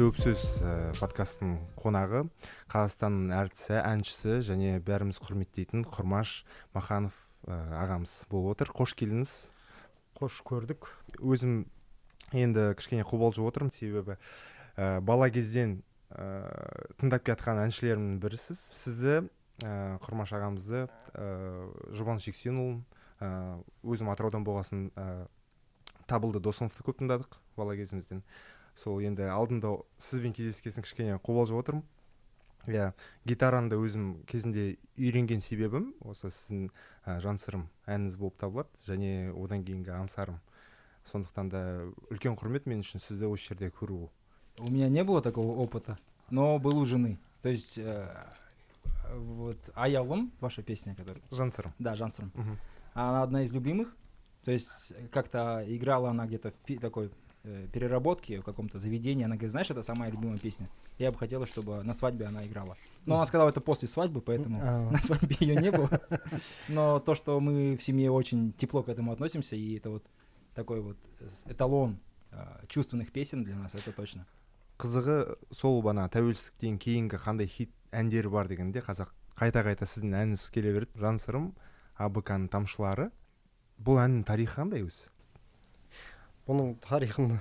Дөпсөз подкасттың қонағы Қазақстанның әртісі, әншісі және бәріміз құрметтейтін Құрмаш Маханов ағамыз болып отыр. Қош келдіңіз. Қош көрдік. Өзім енді кішкене қобалжып отырмын, себебі бала кезден тыңдап келатқан әншілерімнің бірісіз. Сізді, Құрмаш ағамызды, Жұбан Жексенұлын, өзім Атыраудан болғасын Табылды Досымовты көп тыңдадық бала кезімізден. Сол енді алдында сізбен кездескесін кішкене қобалжып отырмын. Гитараны да өзім кезінде үйренген себебім осы сіздің жансырым әніңіз болып табылады, және одан кейінгі аңсарым. Сондықтан да үлкен құрмет мен үшін сізді осы жерде көру. У меня не было такого опыта, но был у жены. То есть вот Аялым, ваша песня, которая... Жансырым. Да, Жансырым. Она одна из любимых. То есть как-то играла она где-то в такой переработке в каком-то заведении. Она говорит, знаешь, это самая любимая песня. Я бы хотела, чтобы на свадьбе она играла. Но она сказала это после свадьбы, поэтому на свадьбе ее не было. Но то, что мы в семье очень тепло к этому относимся, и это вот такой вот эталон чувственных песен для нас, это точно. Қызығы сол бана тәуелсіздіктен кейінгі қандай хит әндері бар дегенде қазақ қайта-қайта сіздің әніңіз келе береді. Жансырым, АБК-ның тамшылары. Бұл әннің тарихы қандай өзі? Бұның тарихын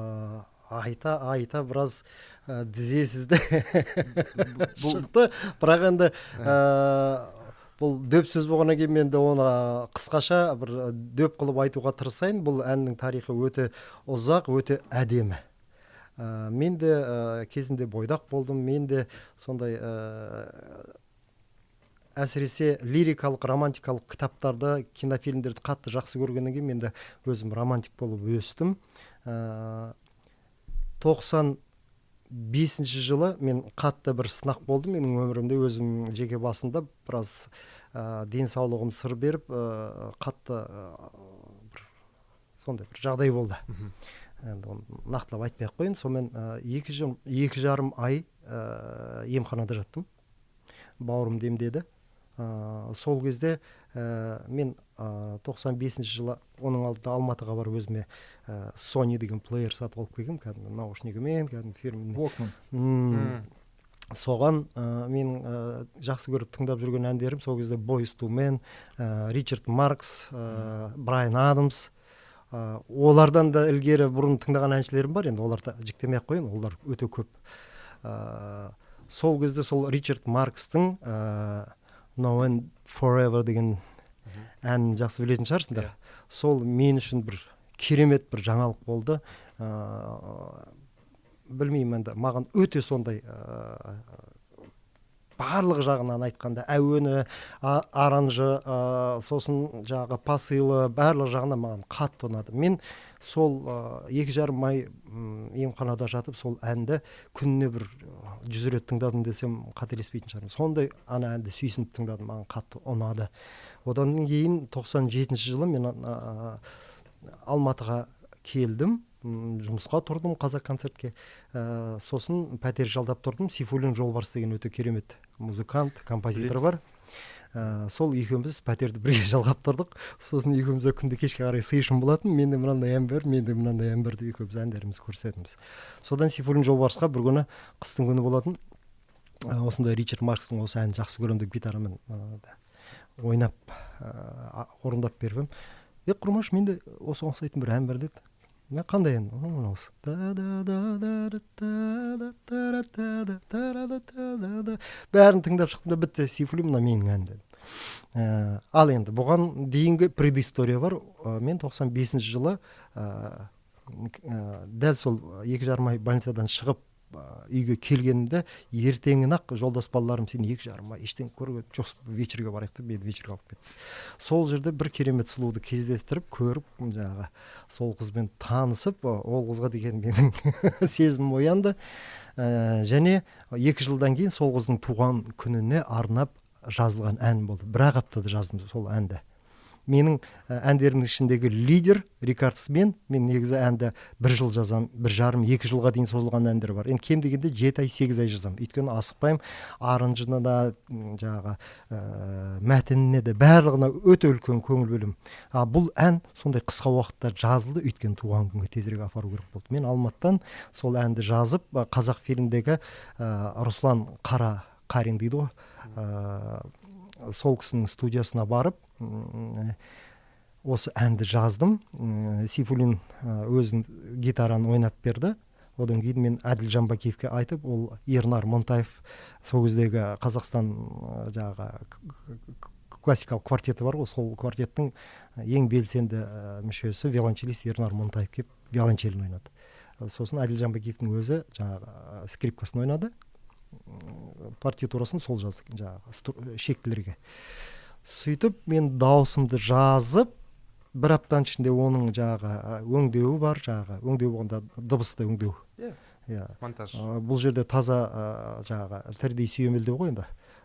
айта біраз дізесізді шықты. Бірақ енді бұл дөп сөз болғаннан кейін мен де оны қысқаша бір дөп қылып айтуға тырысайын. Бұл әннің тарихы өте ұзақ, өте әдемі. Мен де кезінде бойдақ болдым. Мен де сондай әсіресе лирикалық, романтикалық кітаптарды, кинофильмдерді қатты жақсы көргеннен кейін мен де өзім романтик болып өстім. 95 жылы мен қатты бір сынақ болды менің өмірімде, өзім жеке басымда біраз денсаулығым сыр беріп, қатты сондай бір жағдай болды. Нақтылап айтпай-ақ қойын. Сонымен 2,5 ай емханада жаттым. Бауырым демдеді. Сол кезде мен 95 жылы оның алдында Алматыға барып өзіме Sony деген плеер сатып алып келгем, кәдімгі наушнигімен, кәдімгі фирменный. Walkman. Соған мен жақсы көріп тыңдап жүрген әндерім сол кезде Boyz II Men, Ричард Маркс, Брайан Адамс. Олардан да ілгері бұрын тыңдаған әншілерім бар, енді оларды жіктемей-ақ қойын, олар өте көп. Сол кезде сол Ричард Маркстың Now and Forever деген әнін жақсы білетін шығарсыңдар. Сол мен үшін бір керемет бір жаңалық болды. Білмеймін, енді маған өте сондай барлық жағынан айтқанда әуені, аранжы, сосын жағы пасылы, барлық жағынан маған қатты ұнады. Мен сол 2,5 ай емханада жатып, сол әнді күніне бір 100 рет тыңдадым десем қателеспейтін шығармын. Сондай ана әнді сүйсініп тыңдадым, маған қатты ұнады. Одан кейін 97 жылы мен Алматыға келдім. Жұмысқа тұрдым Қазақконцертке. Сосын пәтер жалдап тұрдым. Сейфуллин Жолбарыс деген өте керемет музыкант, композитор бар. Сол екеуміз пәтерді бірге жалғап тұрдық. Сосын екеумізде күнде кешке қарай сыйышым болатын. Менде мынандай ән бар, менде мынандай ән бар деп екеуміз әндеріміз көрсетеміз. Содан Сейфуллин Жолбарысқа бір күні қыстың күні болатын. Осындай Ричард Маркстың осы әнін жақсы көремін деп гитарамен ойнап орындап бердім. Құрмаш, менде осы ұқсайтын бір ән бар деді. Мен қандай ән? Осы. Бәрін тыңдап шықтым да бітті. Сейфуллин, мына менің ән деді. Ал енді бұған дейінгі предыстория бар. Мен 95 жылы дәл сол 2,5 ай больницадан шығып үйге келгенімде ертеңін-ақ жолдас балаларым, сен 2,5 ай ештеңе көрген жоқсың, вечерге барайық деп мені вечерге алып кетті. Сол жерде бір керемет сұлуды кездестіріп, көріп, жаңағы сол қызбен танысып, ол қызға деген менің сезімім оянды. Және 2 жылдан кейін сол қыздың туған күніне арнап жазылған ән болды. Бір аптада жаздым сол әнді. менің әндерімнің ішіндегі лидер Рикардс мен негізі әнді 1 жыл жазамын, 1,5-2 жылға дейін созылған әндер бар. Енді кем дегенде 7 ай 8 ай жазамын. Өйткені асықпаймын, арынжына да жаңағы мәтініне де барлығына өте үлкен көңіл бөлемін. Бұл ән сондай қысқа уақытта жазылды, өйткені туған күнге тезірек апару керек болды. Мен Алматыдан сол әнді жазып, қазақ фильмдегі Руслан Қарин дейді ғой, сол кісінің студиясына барып осы әнді жаздым. Сейфуллин өзін гитараны ойнап берді. Одан кейін мен Әділ Жамбакиевке айтып, ол Ернар Монтаев сол кездегі Қазақстан жаңағы классикалық квартеті бар ғой, сол квартеттің ең белсенді мүшесі виолончелист Ернар Монтаев келіп виолончелін ойнады. Сосын Әділ Жамбакиевтің өзі жаңағы скрипкасын ойнады. Партитурасын сол жаздық жаңағы шектілерге. Сөйтіп мен даусымды жазып, 1 аптаның ішінде оның жаңағы өңдеуі бар, жаңағы өңдеу болғанда дыбысты өңдеу. Монтаж. Бұл жерде таза жаңағы 3D сүйемелдеу ғой енді.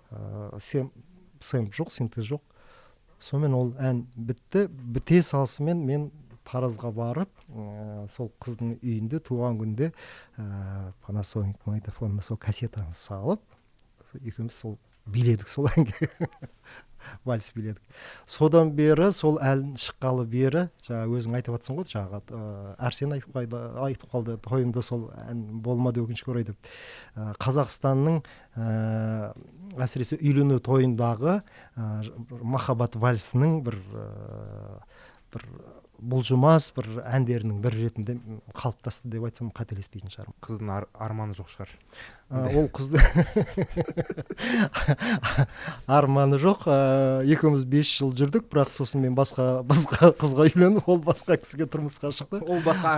Сэмп жоқ, синтез жоқ. Сонымен ол ән бітті. Біте салысымен мен Таразға барып, сол қыздың үйінде туған күнде Panasonic магнитофонына сол кассетаны салып, екеуміз сол биледік сол әнге. Вальс биледік. Содан бері сол ән шыққалы бері, жаңа өзің айтып жатсың ғой, жаңағы Әрсен айтып қалды, тойымда сол ән болмады өкінішке орай деп. Қазақстанның әсіресе үйлену тойындағы махаббат вальсінің бір бұлжымас бір әндерінің бір ретінде қалыптасты деп айтсам қателеспейтін шығармын. Қыздың арманы жоқ шығар. Ол қызды арманы жоқ. Екеуміз 5 жыл жүрдік, бірақ сосын мен басқа қызға үйленіп, ол басқа кісіге тұрмысқа шықты. Ол басқа.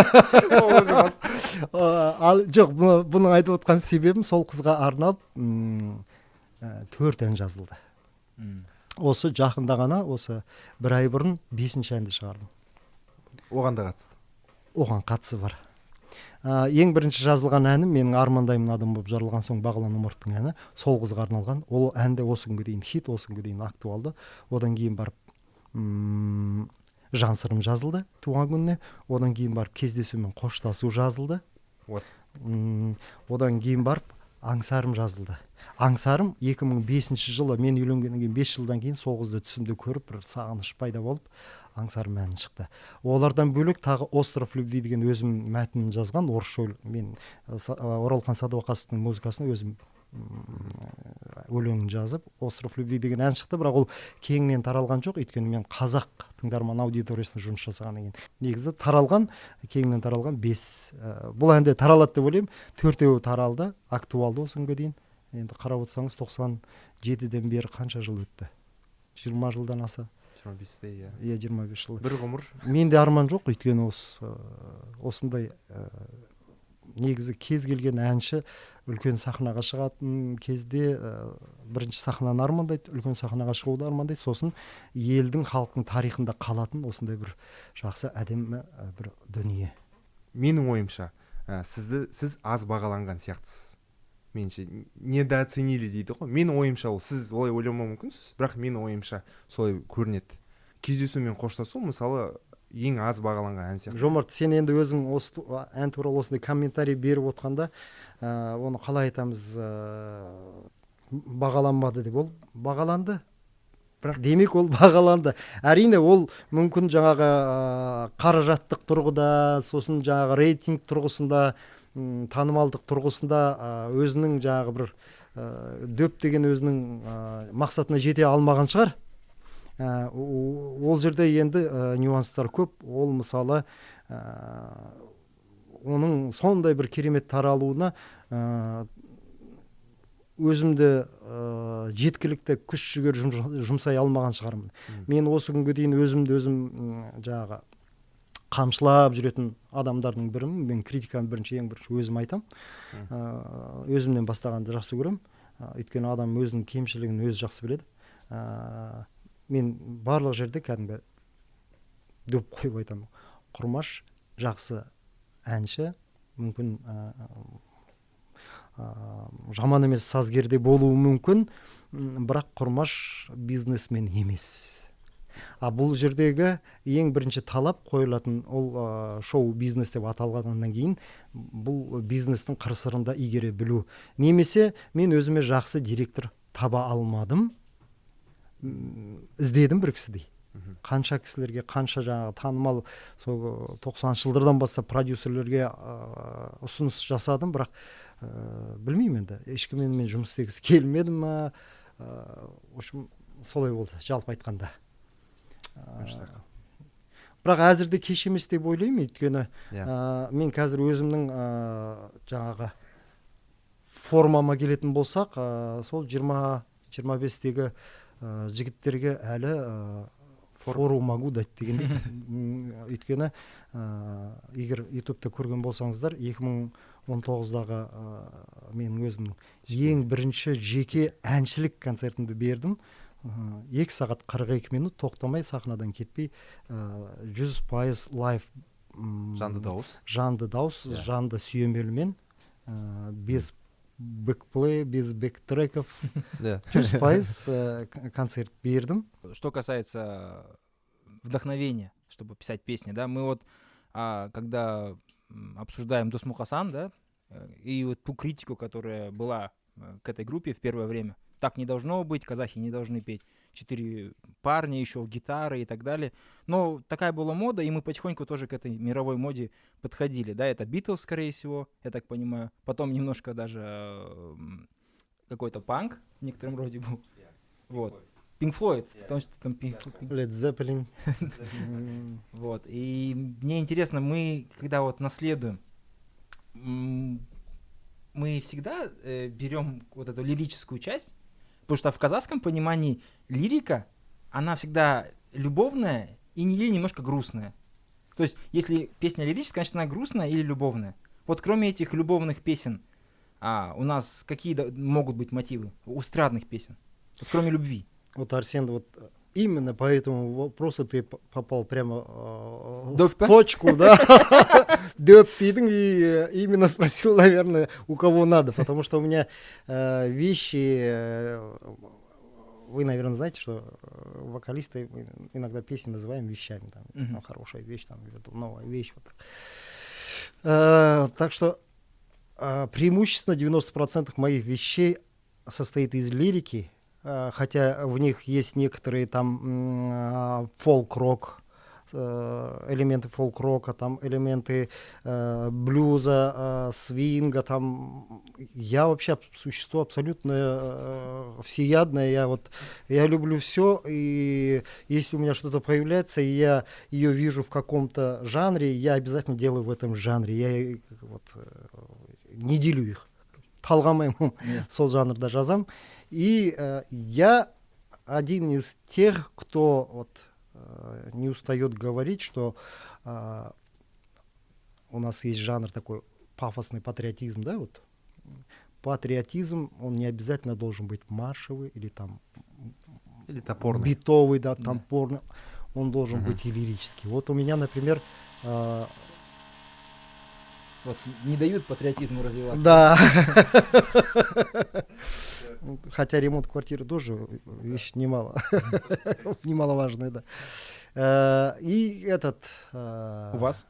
Жоқ, бұның айтып отқан себебім сол қызға арналып 4 ән жазылды. Осы жақында ғана, осы 1 ай бұрын 5-ші әнді шығардым. Оған да қатысты? Оған қатысы бар. Ең бірінші жазылған әнім менің армандаймын адам болып жарылған соң Бағлан Омаровтың әні, сол қызға арналған. Ол әнде осы күнге дейін хит, осы күнге дейін актуалды. Одан кейін барып Жан сырым жазылды туған күніне. Одан кейін барып Кездесу мен қоштасу жазылды. Одан кейін барып Аңсарым жазылды. Аңсарым 2005 жылы мен үйленгеннен кейін 5 жылдан кейін сол қызды түсімде көріп, бір сағыныш пайда болып, Аңсарым әні шықты. Олардан бөлек тағы Остров любви деген өзім мәтінін жазған, орысша мен Оралхан Садуақасовтың музыкасын өзім өлеңін жазып, Остров любви деген ән шықты, бірақ ол кеңінен таралған жоқ, өйткені мен қазақ тыңдарман аудиториясына жұмыс жасағаннан кейін. Негізі таралған, кеңінен таралған 5. Бұл әнде таралады деп ойлаймын, 4-еуі таралды, актуалды осы күнге дейін. Енді қарап отырсаңыз 97-ден бері қанша жыл өтті? 20 жылдан аса. 25-те, иә. Иә, 25 жыл. Бір ғұмыр. Менде арман жоқ, өйткені осындай негізі кез келген әнші үлкен сахнаға шығатын кезде бірінші сахнаны армандайды, үлкен сахнаға шығуды армандайды, сосын елдің, халықтың тарихында қалатын осындай бір жақсы әдемі бір дүние. Менің ойымша, сіз аз бағаланған сияқтысыз. Менше недооценили дейді ғой. Менің ойымша ол, сіз олай ойламауы мүмкінсіз, бірақ менің ойымша солай көрінеді. Кездесу мен қоштасу мысалы ең аз бағаланған ән сияқты. Жомарт, сен енді өзің осы ән туралы осындай комментарий беріп отқанда, оны қалай айтамыз, бағаланбады деп, ол бағаланды. Бірақ демек ол бағаланды. Әрине ол мүмкін жаңағы қаражаттық тұрғыда, сосын жаңағы рейтинг тұрғысында, танымалдық тұрғысында өзінің жаңағы бір дөп деген өзінің мақсатына жете алмаған шығар. Ол жерде енді нюанстар көп. Ол мысалы оның сондай бір керемет таралуына өзімді жеткілікті күш жігер жұмсай алмаған шығармын. Мен осы күнге дейін өзім жаңағы қамшылап жүретін адамдардың бірімін. Мен критиканы ең бірінші өзім айтам. Өзімнен бастағанды жақсы көрем. Өйткені адам өзінің кемшілігін өзі жақсы біледі. Мен барлық жерде кәдімгі дөп қойып айтамын. Құрмаш жақсы әнші, мүмкін жаман емес сазгерде болуы мүмкін, бірақ Құрмаш бизнесмен емес. А бұл жердегі ең бірінші талап қойылатын ол шоу бизнес деп аталғаннан кейін бұл бизнестің қыр-сырында игере білу. Немесе мен өзіме жақсы директор таба алмадым, іздедім бір кісідей. Қанша кісілерге, қанша жаңағы танымал сол 90-шы жылдардан бастап продюсерлерге ұсыныс жасадым, бірақ білмеймін енді, ешкіммен мен жұмыс істегісі келмеді ма. В общем, солай болды, жалпы айтқанда. Бірақ әзірде кеш емес деп ойлаймын, өйткені мен қазір өзімнің жаңағы формама келетін болсақ, сол 20-25-тегі жігіттерге әлі фору могу дать дегендей. Өйткені егер ютубта көрген болсаңыздар, 2019-дағы менің өзімнің ең бірінші жеке әншілік концертімді бердім. 2 сағат 42 минут тоқтамай, сахнадан кетпей, 100% лайв, жанды дауыс, жанды сүйемелмен, без бэкплей, без бэктреков, 100% концерт бердім. Что касается вдохновения, чтобы писать песни, да, мы вот, когда обсуждаем Досмухасан, да, и вот ту критику, которая была к этой группе в первое время, так не должно быть, казахи не должны петь, 4 парня, еще гитары и так далее. Но такая была мода, и мы потихоньку тоже к этой мировой моде подходили. Да, это Битлз, скорее всего, я так понимаю. Потом немножко даже какой-то панк в некотором роде был. Вот. Pink Floyd, потому что там Led Zeppelin. Вот. И мне интересно, мы, когда вот наследуем, мы всегда берем вот эту лирическую часть, потому что в казахском понимании лирика, она всегда любовная и немножко грустная. То есть, если песня лирическая, значит, она грустная или любовная. Вот кроме этих любовных песен, у нас какие могут быть мотивы у эстрадных песен? Вот кроме любви. Вот, Арсен, вот именно по этому вопросу ты попал прямо в точку, да? Дөп дедің, и именно спросил, наверное, у кого надо, потому что у меня вещи... Вы, наверное, знаете, что вокалисты иногда песни называем вещами. Там, хорошая вещь, там, новая вещь. Вот так. Так что преимущественно 90% моих вещей состоит из лирики, хотя в них есть некоторые там фолк-рок, элементы фолк-рока, там элементы блюза, свинга, там я вообще существо абсолютно всеядное, я люблю все, и если у меня что-то появляется, и я ее вижу в каком-то жанре, я обязательно делаю в этом жанре, я не делю их, талғамаймын сол жанрда жазам, и я один из тех, кто не устает говорить, что у нас есть жанр такой пафосный патриотизм, да, вот. Патриотизм, он не обязательно должен быть маршевый или там или топорный, битовый, да, топорный, он должен быть и лирический. Вот у меня, например, вот не дают патриотизму развиваться. Да. Хотя ремонт квартиры тоже вещь немаловажная, да. И этот... У вас?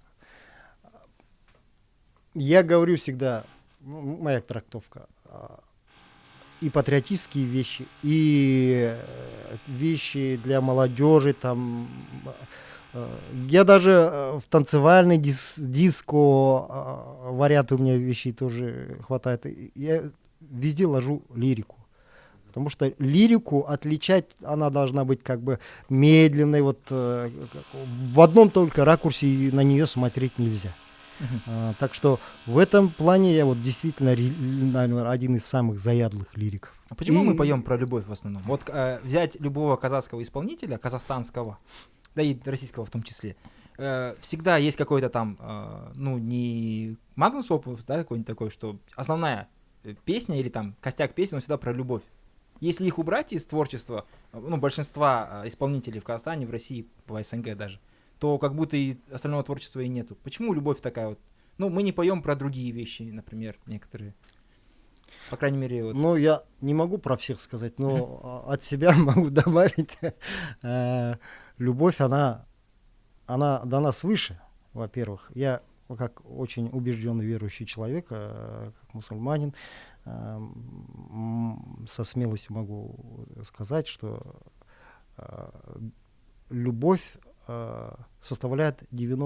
Я говорю всегда, моя трактовка, и патриотические вещи, и вещи для молодежи, там... Я даже в танцевальный диско варианты у меня вещей тоже хватает. Я везде ложу лирику. Потому что лирику отличать, она должна быть как бы медленной, вот в одном только ракурсе на нее смотреть нельзя. Так что в этом плане я вот действительно, наверное, один из самых заядлых лириков. А почему мы поем про любовь в основном? Вот взять любого казахского исполнителя, казахстанского, да и российского в том числе, всегда есть какой-то там, не Magnus Opus, да, какой-нибудь такой, что основная песня или там костяк песни, он всегда про любовь. Если их убрать из творчества, большинства исполнителей в Казахстане, в России, в СНГ даже, то как будто и остального творчества и нету. Почему любовь такая вот? Мы не поем про другие вещи, например, некоторые. По крайней мере, вот. Я не могу про всех сказать, но от себя могу добавить. любовь, она дана свыше, во-первых. Я, как очень убежденный верующий человек, как мусульманин, со смелостью могу сказать, что любовь составляет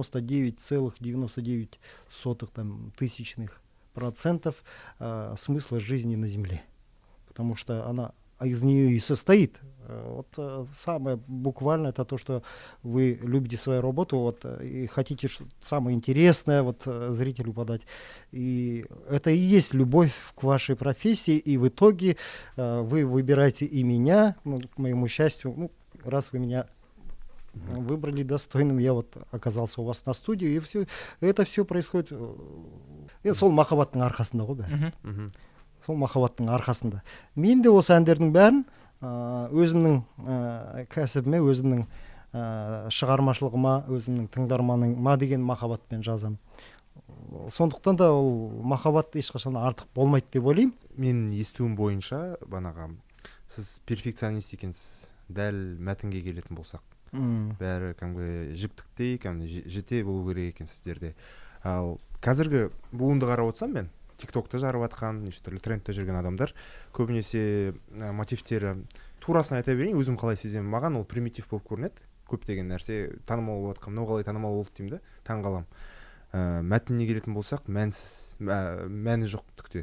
99,99% смысла жизни на земле, потому что она из нее и состоит. Вот самое буквальное это то, что вы любите свою работу, вот, и хотите самое интересное вот зрителю подать. И это и есть любовь к вашей профессии, и в итоге вы выбираете и меня, ну, к моему счастью, раз вы меня выбрали достойным, я вот оказался у вас на студии, и это все происходит сол махаббаттың арқасында ғой бәрі. Сол махаббаттың арқасында. Мен де осы әндердің бәрін өзімнің кәсібіме, өзімнің шығармашылығыма, өзімнің тыңдарманыма деген махаббатпен жазамын. Сондықтан да ол махаббат ешқашан артық болмайды деп ойлаймын. Менің естуім бойынша банаға сіз перфекционист екенсіз. Дәл мәтінге келетін болсақ, бәрі кәдімгі жіптіктей, кәдімгі жете болу керек екен сіздерде. Ал қазіргі буынды қарап отырсам мен, тиктокты жарып жатқан, неше түрлі трендте жүрген адамдар көбінесе мотивтері турасын айта берейін, өзім қалай сеземін, маған ол примитив болып көрінеді. Көптеген нәрсе танымал болып жатқан, мынау қалай танымал болды деймін да, таң қалам. Мәтініне келетін болсақ, мәні жоқ түкте.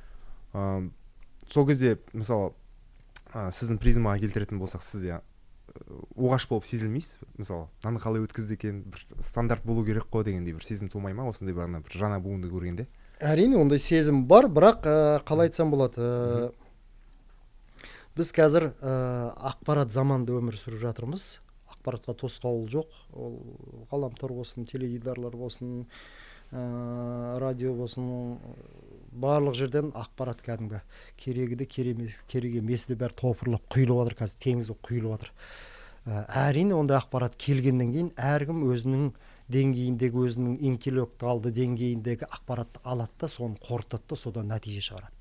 Сол кезде, мысалы, сіздің призмаға келтіретін болсақ, сіз оғаш болып сезілмейсіз. Мысалы, мынаны қалай өткізді екен, бір стандарт болу керек қой дегендей бір сезім тумай ма, осындай бір жаңа буынды көргенде? Әрине, ондай сезім бар, бірақ қалай айтсам болады, біз қазір ақпарат заманында өмір сүріп жатырмыз. Ақпаратқа тосқауыл жоқ. Ол ғаламтор болсын, теледидарлар болсын, радио болсын, барлық жерден ақпарат кәдімгі керегі керек емес де бәрі топырлап құйылып жатыр, қазір теңіз болып құйылып жатыр. Әрине, ондай ақпарат келгеннен кейін әркім өзінің деңгейіндегі, өзінің интеллектуалды деңгейіндегі ақпаратты алады да, соны қорытады да, содан нәтиже шығарады.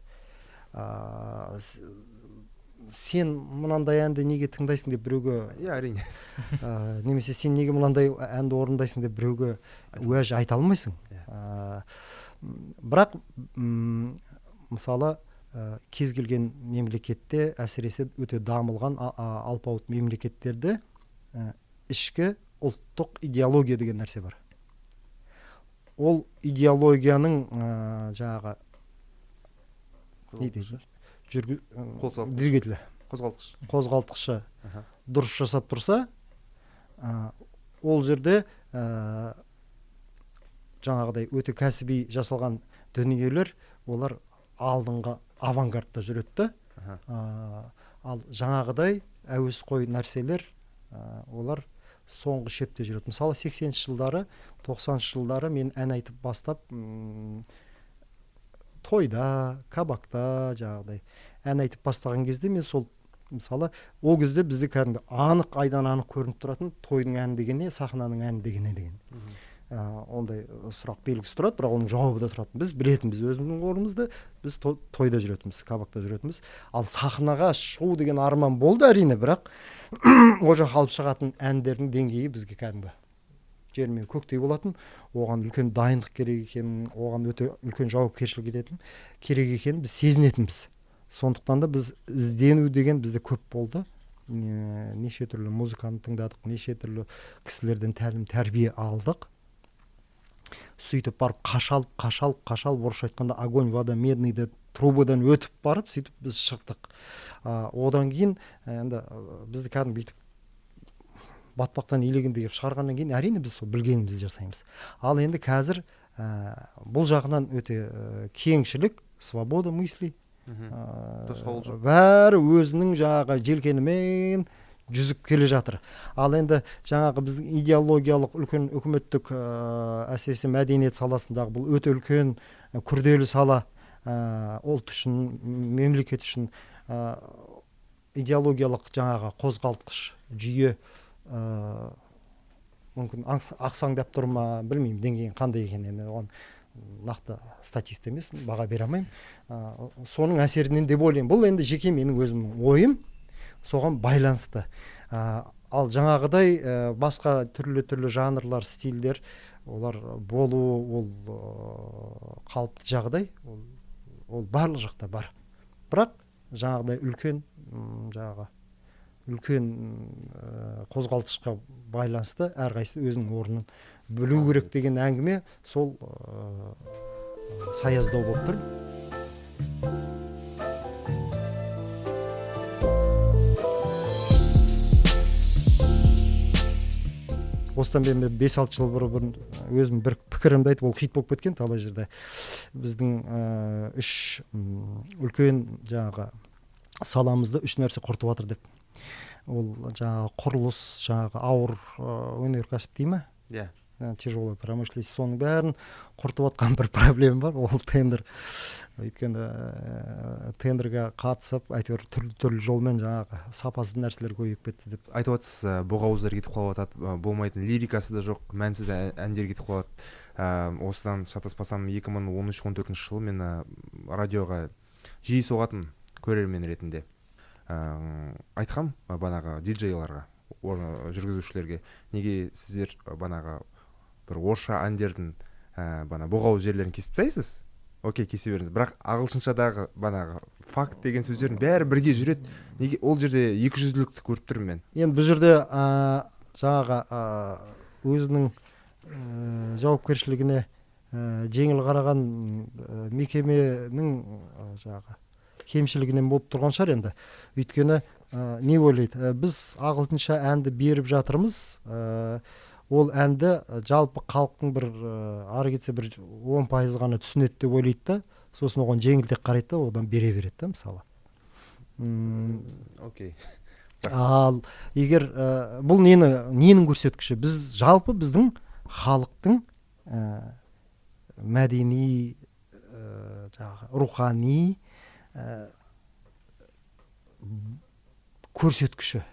Сен мынандай әнді неге тыңдайсың деп біреуге, әрине. Немесе сен неге мынандай әнді орындайсың деп біреуге уәж айта алмайсың. Бірақ мысалы кез келген мемлекетте, әсіресе өте дамылған алпауыт мемлекеттерде ішкі ұлттық идеология деген нәрсе бар. Ол идеологияның жаңағы двигателі, қозғалтқышы дұрыс жасап тұрса, ол жерде жаңағыдай өте кәсіби жасалған дүниелер, олар алдыңғы авангардта жүреді. Ал жаңағыдай әуесқой нәрселер, олар соңғы шепте жүреді. Мысалы 80-ші жылдары, 90-ші жылдары мен ән айтып бастап, тойда, кабакта жаңағыдай ән айтып бастаған кезде мен сол, мысалы, ол кезде бізде кәдімгі анық, айдан анық көрініп тұратын тойдың әні дегене, сахнаның әні дегене деген. Ондай сұрақ белгісі тұрады, бірақ оның жауабы да тұрады. Біз білетінбіз, өзіміздің орнымызда біз тойда жүретінбіз, кабакта жүретінбіз. Ал сахнаға шығу деген арман болды әрине, бірақ ол жаққа алып шығатын әндердің деңгейі бізге кәдімгі жер мен көктей болатын, оған үлкен дайындық керек екенін, оған өте үлкен жауапкершілік керек екенін біз сезінетінбіз. Сондықтан да біз іздену деген бізде көп болды. Неше түрлі музыканы тыңдадық, неше түрлі кісілерден тәлім тәрбие алдық. Сөйтіп барып қашалып, орысша айтқанда огонь, вода, медныйды трубадан өтіп барып, сөйтіп біз шықтық. Одан кейін енді бізді кәдімгі бүйтіп батпақтан илегенде деп шығарғаннан кейін әрине біз сол білгенімізді жасаймыз. Ал енді қазір бұл жағынан өте кеңшілік, свобода мысли, бәрі өзінің жаңағы желкенімен жүзіп келе жатыр. Ал енді жаңағы біздің идеологиялық үлкен үкіметтік әсіресе мәдениет саласындағы бұл өте үлкен күрделі сала, ұлт үшін, мемлекет үшін идеологиялық жаңағы қозғалтқыш жүйе мүмкін ақсаңдап тұр ма, білмеймін, деңгейін қандай екенін, оған нақты статист емес, баға бере алмаймын. Соның әсерінен деп ойлаймын. Бұл енді жеке менің өзімнің ойым, соған байланысты. ал жаңағыдай басқа түрлі жанрлар, стильдер, олар болу, ол қалыпты жағдай, ол барлық жақта бар. Бірақ жаңағыдай үлкен қозғалтышқа байланысты әрқайсысы өзінің орнын білу керек деген әңгіме сол саяздау болып тұр. Осыдан мен 5-6 жыл бұрын өзім бір пікірімді айтып, ол хит болып кеткен талай жерде. Біздің 3 үлкен жаңағы саламызды 3 нәрсе құртып жатыр деп. Ол жаңағы құрылыс, жаңағы ауыр өнеркәсіп дей ма? Иә. Тяжелая промышленность, соның бәрін құртып жатқан бір проблема бар, ол тендер. Өйткені тендерге қатысып, әйтеуір түрлі жолмен жаңағы сапасыз нәрселер көбейіп кетті деп. Айтып жатсыз, боғауыздар кетіп қалып жатады, болмайтын лирикасы да жоқ, мәнсіз әндер кетіп қалады. Осыдан шатаспасам 2013-14 жылы мен радиоға жиі соғатын көрермен ретінде айтқам банағы диджейларға, жүргізушілерге, неге сіздер банағы бір орысша әндердің бана боғауыз жерлерін кесіп тастайсыз? Окей, кесе беріңіз. Бірақ ағылшыншадағы банағы факт деген сөздердің бәрі бірге жүреді. Неге ол жерде 200-лікті көріп тұрмын мен? Енді бұл жерде жаңағы өзінің жауапкершілігіне жеңіл қараған мекеменің жаңағы кемшілігінен болып тұрған шығар енді. Өйткені не ойлайды? Біз ағылшынша әнді беріп жатырмыз. Ол әнді жалпы халықтың бір ары кетсе бір 10% ғана түсінеді деп ойлайды да, сосын оған жеңілдік қарайды да, одан бере береді да, мысалы. Окей. Ал егер бұл ненің көрсеткіші? Біз жалпы біздің халықтың мәдени, рухани көрсеткіші.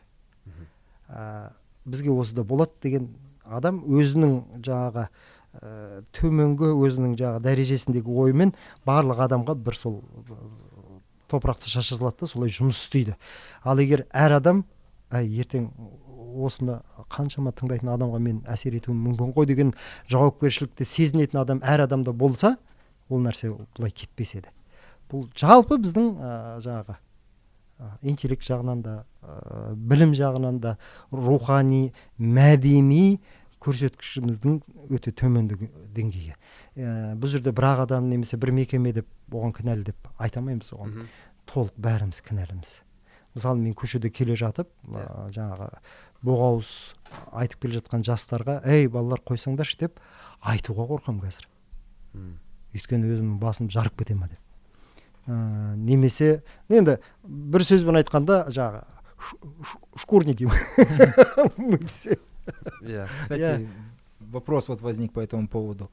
Бізге осыда болады деген адам өзінің жаңағы төменгі өзінің жаңағы дәрежесіндегі оймен барлық адамға бір сол топырақты шаша салады да, солай жұмыс істейді. Ал егер әр адам ертең осыны қаншама тыңдайтын адамға мен әсер етуім мүмкін ғой деген жауапкершілікті сезінетін адам әр адамда болса, ол нәрсе бұлай кетпес еді. Бұл жалпы біздің жаңағы интеллект жағынан да, білім жағынан да, рухани, мәдени көрсеткішіміздің өте төмендігі деңгейі. Бұл жерде бір адам немесе бір мекеме деп оған кінәлі деп айтамаймыз, оған толық бәріміз кінәліміз. Мысалы, мен көшеде келе жатып, жаңағы боғауыз айтып келе жатқан жастарға, «Ей, балалар, қойсаңдаршы» деп айтуға қорқам қазір. Өйткені өзімнің басым жарып кете ма деп. Немесе, енді бір сөзбен айтқанда, жаңағы шкурни деймін. Мы все. Кстати, вопрос вот возник по этому поводу.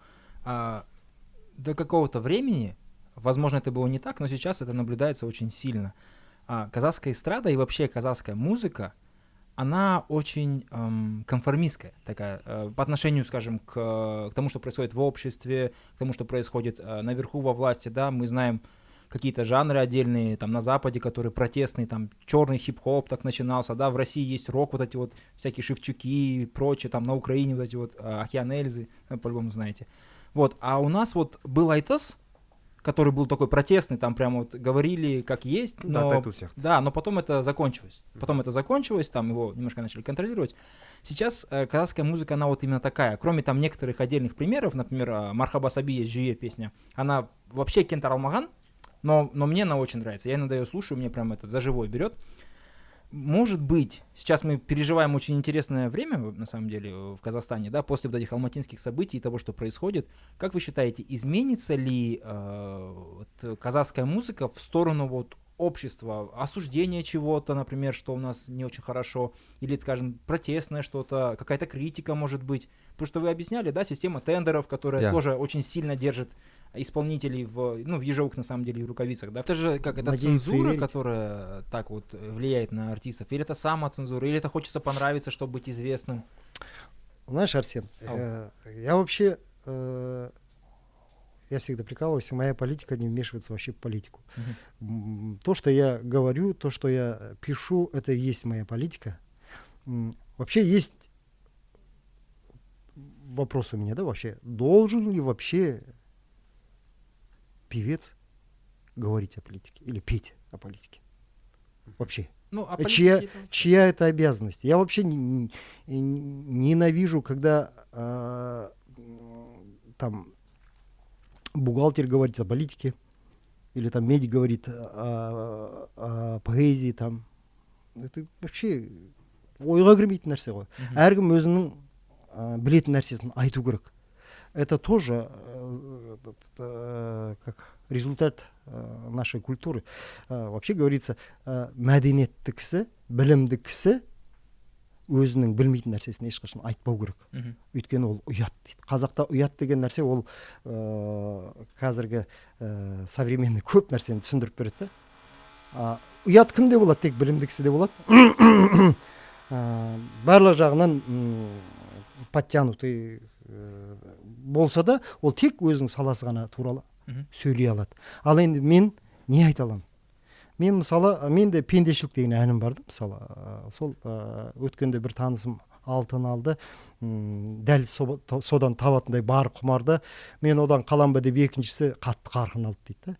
До какого-то времени, возможно, это было не так, но сейчас это наблюдается очень сильно. Казахская эстрада и вообще казахская музыка, она очень конформистская такая, по отношению, скажем, к тому, что происходит в обществе, к тому, что происходит наверху во власти, да, мы знаем какие-то жанры отдельные, там, на Западе, которые протестные, там, черный хип-хоп так начинался, да, в России есть рок, вот эти вот всякие Шевчуки и прочее, там, на Украине вот эти вот Океан Эльзы, по-любому знаете. Вот, а у нас вот был Айтас, который был такой протестный, там прямо вот говорили как есть, но, да, но потом это закончилось. Там его немножко начали контролировать. Сейчас казахская музыка, она вот именно такая. Кроме там некоторых отдельных примеров, например, Мархаба Саби есть Жюе песня, она вообще Кентар Алмаган, но мне она очень нравится. Я иногда ее слушаю, мне прям это за живое берет. Может быть, сейчас мы переживаем очень интересное время, на самом деле, в Казахстане, да, после вот этих алматинских событий и того, что происходит. Как вы считаете, изменится ли казахская музыка в сторону вот общества, осуждения чего-то, например, что у нас не очень хорошо, или, скажем, протестное что-то, какая-то критика, может быть? Потому что вы объясняли, да, система тендеров, которая тоже очень сильно держит исполнителей в ежовых, на самом деле, рукавицах, да? Это же как это цензура, которая так вот влияет на артистов, или это самоцензура, или это хочется понравиться, чтобы быть известным? Знаешь, Арсен, я вообще, я всегда прикалываюсь, моя политика не вмешивается вообще в политику. То, что я говорю, то, что я пишу, это и есть моя политика. Вообще есть вопрос у меня, да, вообще, должен ли вообще певец говорить о политике или петь о политике? Вообще. Ну, а Чья это обязанность? Я вообще ненавижу, когда там бухгалтер говорит о политике, или там медик говорит о поэзии, там. Это вообще ойға кірмейтін нәрсе ғой. Әркім өзінің білетін нәрсесін айту керек. Это тоже как результат нашей культуры. Вообще говорится, мәдениетті кісі, білімді кісі өзінің білмейтін нәрсесін ешқашан айтпау керек. Өйткені ол ұят дейді. Қазақта ұят деген нәрсе ол қазіргі современный көп нәрсені түсіндіріп береді. Ұят кімде болады? Тек білімді кісіде болады. Барлық жағынан подтянутый болса да, ол тек өзінің саласы ғана туралы сөйлей алады. Ал енді мен не айта аламын? Мен мысалы, менде пендешілік деген әнім барды, мысалы, сол өткенде бір танысым алтын алды, дәл содан табатындай бар құмарды, мен одан қалам ба деп екіншісі қатты қарқын алды дейді.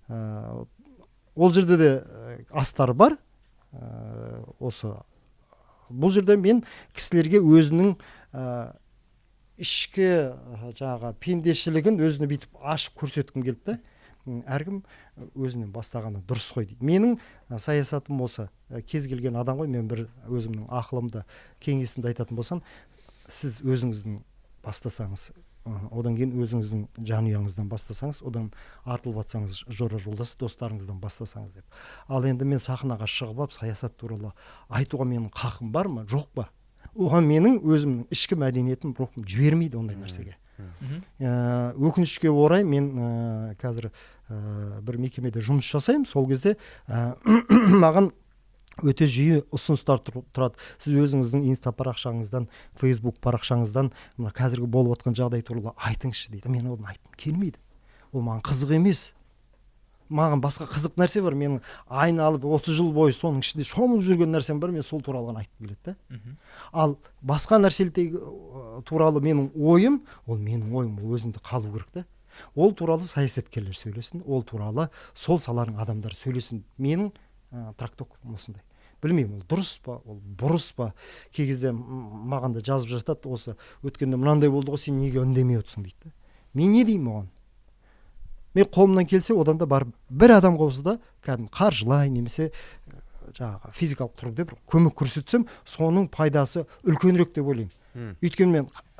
Ол жерде де астар бар. Осы бұл жерде мен кісілерге өзінің ішкі жаңағы пендешілігін өзіне бүйтіп ашып көрсеткім келді. Әркім өзінен бастағаны дұрыс қой дейді. Менің саясатым осы. Кез келген адам ғой, мен бір өзімнің ақылымды, кеңесімді айтатын болсам, сіз өзіңіздің бастасаңыз, одан кейін өзіңіздің жанұяңыздан бастасаңыз, одан артылып атсаңыз, жора жолдас достарыңыздан бастасаңыз деп. Ал енді мен сахнаға шығып алып саясат туралы айтуға менің қақым бар ма, жоқ па? Оған менің өзімнің ішкі мәдениетім, рухым жібермейді ондай нәрсеге. Өкінішке орай мен қазір бір мекемеде жұмыс жасаймын. Сол кезде маған өте жиі ұсыныстар тұрады. Сіз өзіңіздің инста парақшаңыздан, фейсбук парақшаңыздан қазіргі болып отқан жағдай туралы айтыңызшы дейді. Мен оны айтқым келмейді. Ол маған қызық емес. Маған басқа қызық нәрсе бар. Менің айналып 30 жыл бойы соның ішінде шомылып жүрген нәрсем бар. Мен сол туралы ғана айтқым келеді. Ал басқа нәрселер туралы менің ойым, ол менің ойым, ол өзінде қалу керек та. Ол туралы саясаткерлер сөйлесін, ол туралы сол саланың адамдары сөйлесін. Менің трактовкам осындай. Білмеймін, ол дұрыс па, ол бұрыс па. Кей кезде маған да жазып жатады, осы өткенде мынандай болды ғой, сен неге үндемей отырсың дейді. Мен не деймін оған? Мен қолымнан келсе, одан да бар бір адам болса да, кәдімгі қаржылай немесе жаңағы физикалық тұрғыда бір көмек көрсетсем, соның пайдасы үлкенірек деп ойлаймын. Өйткені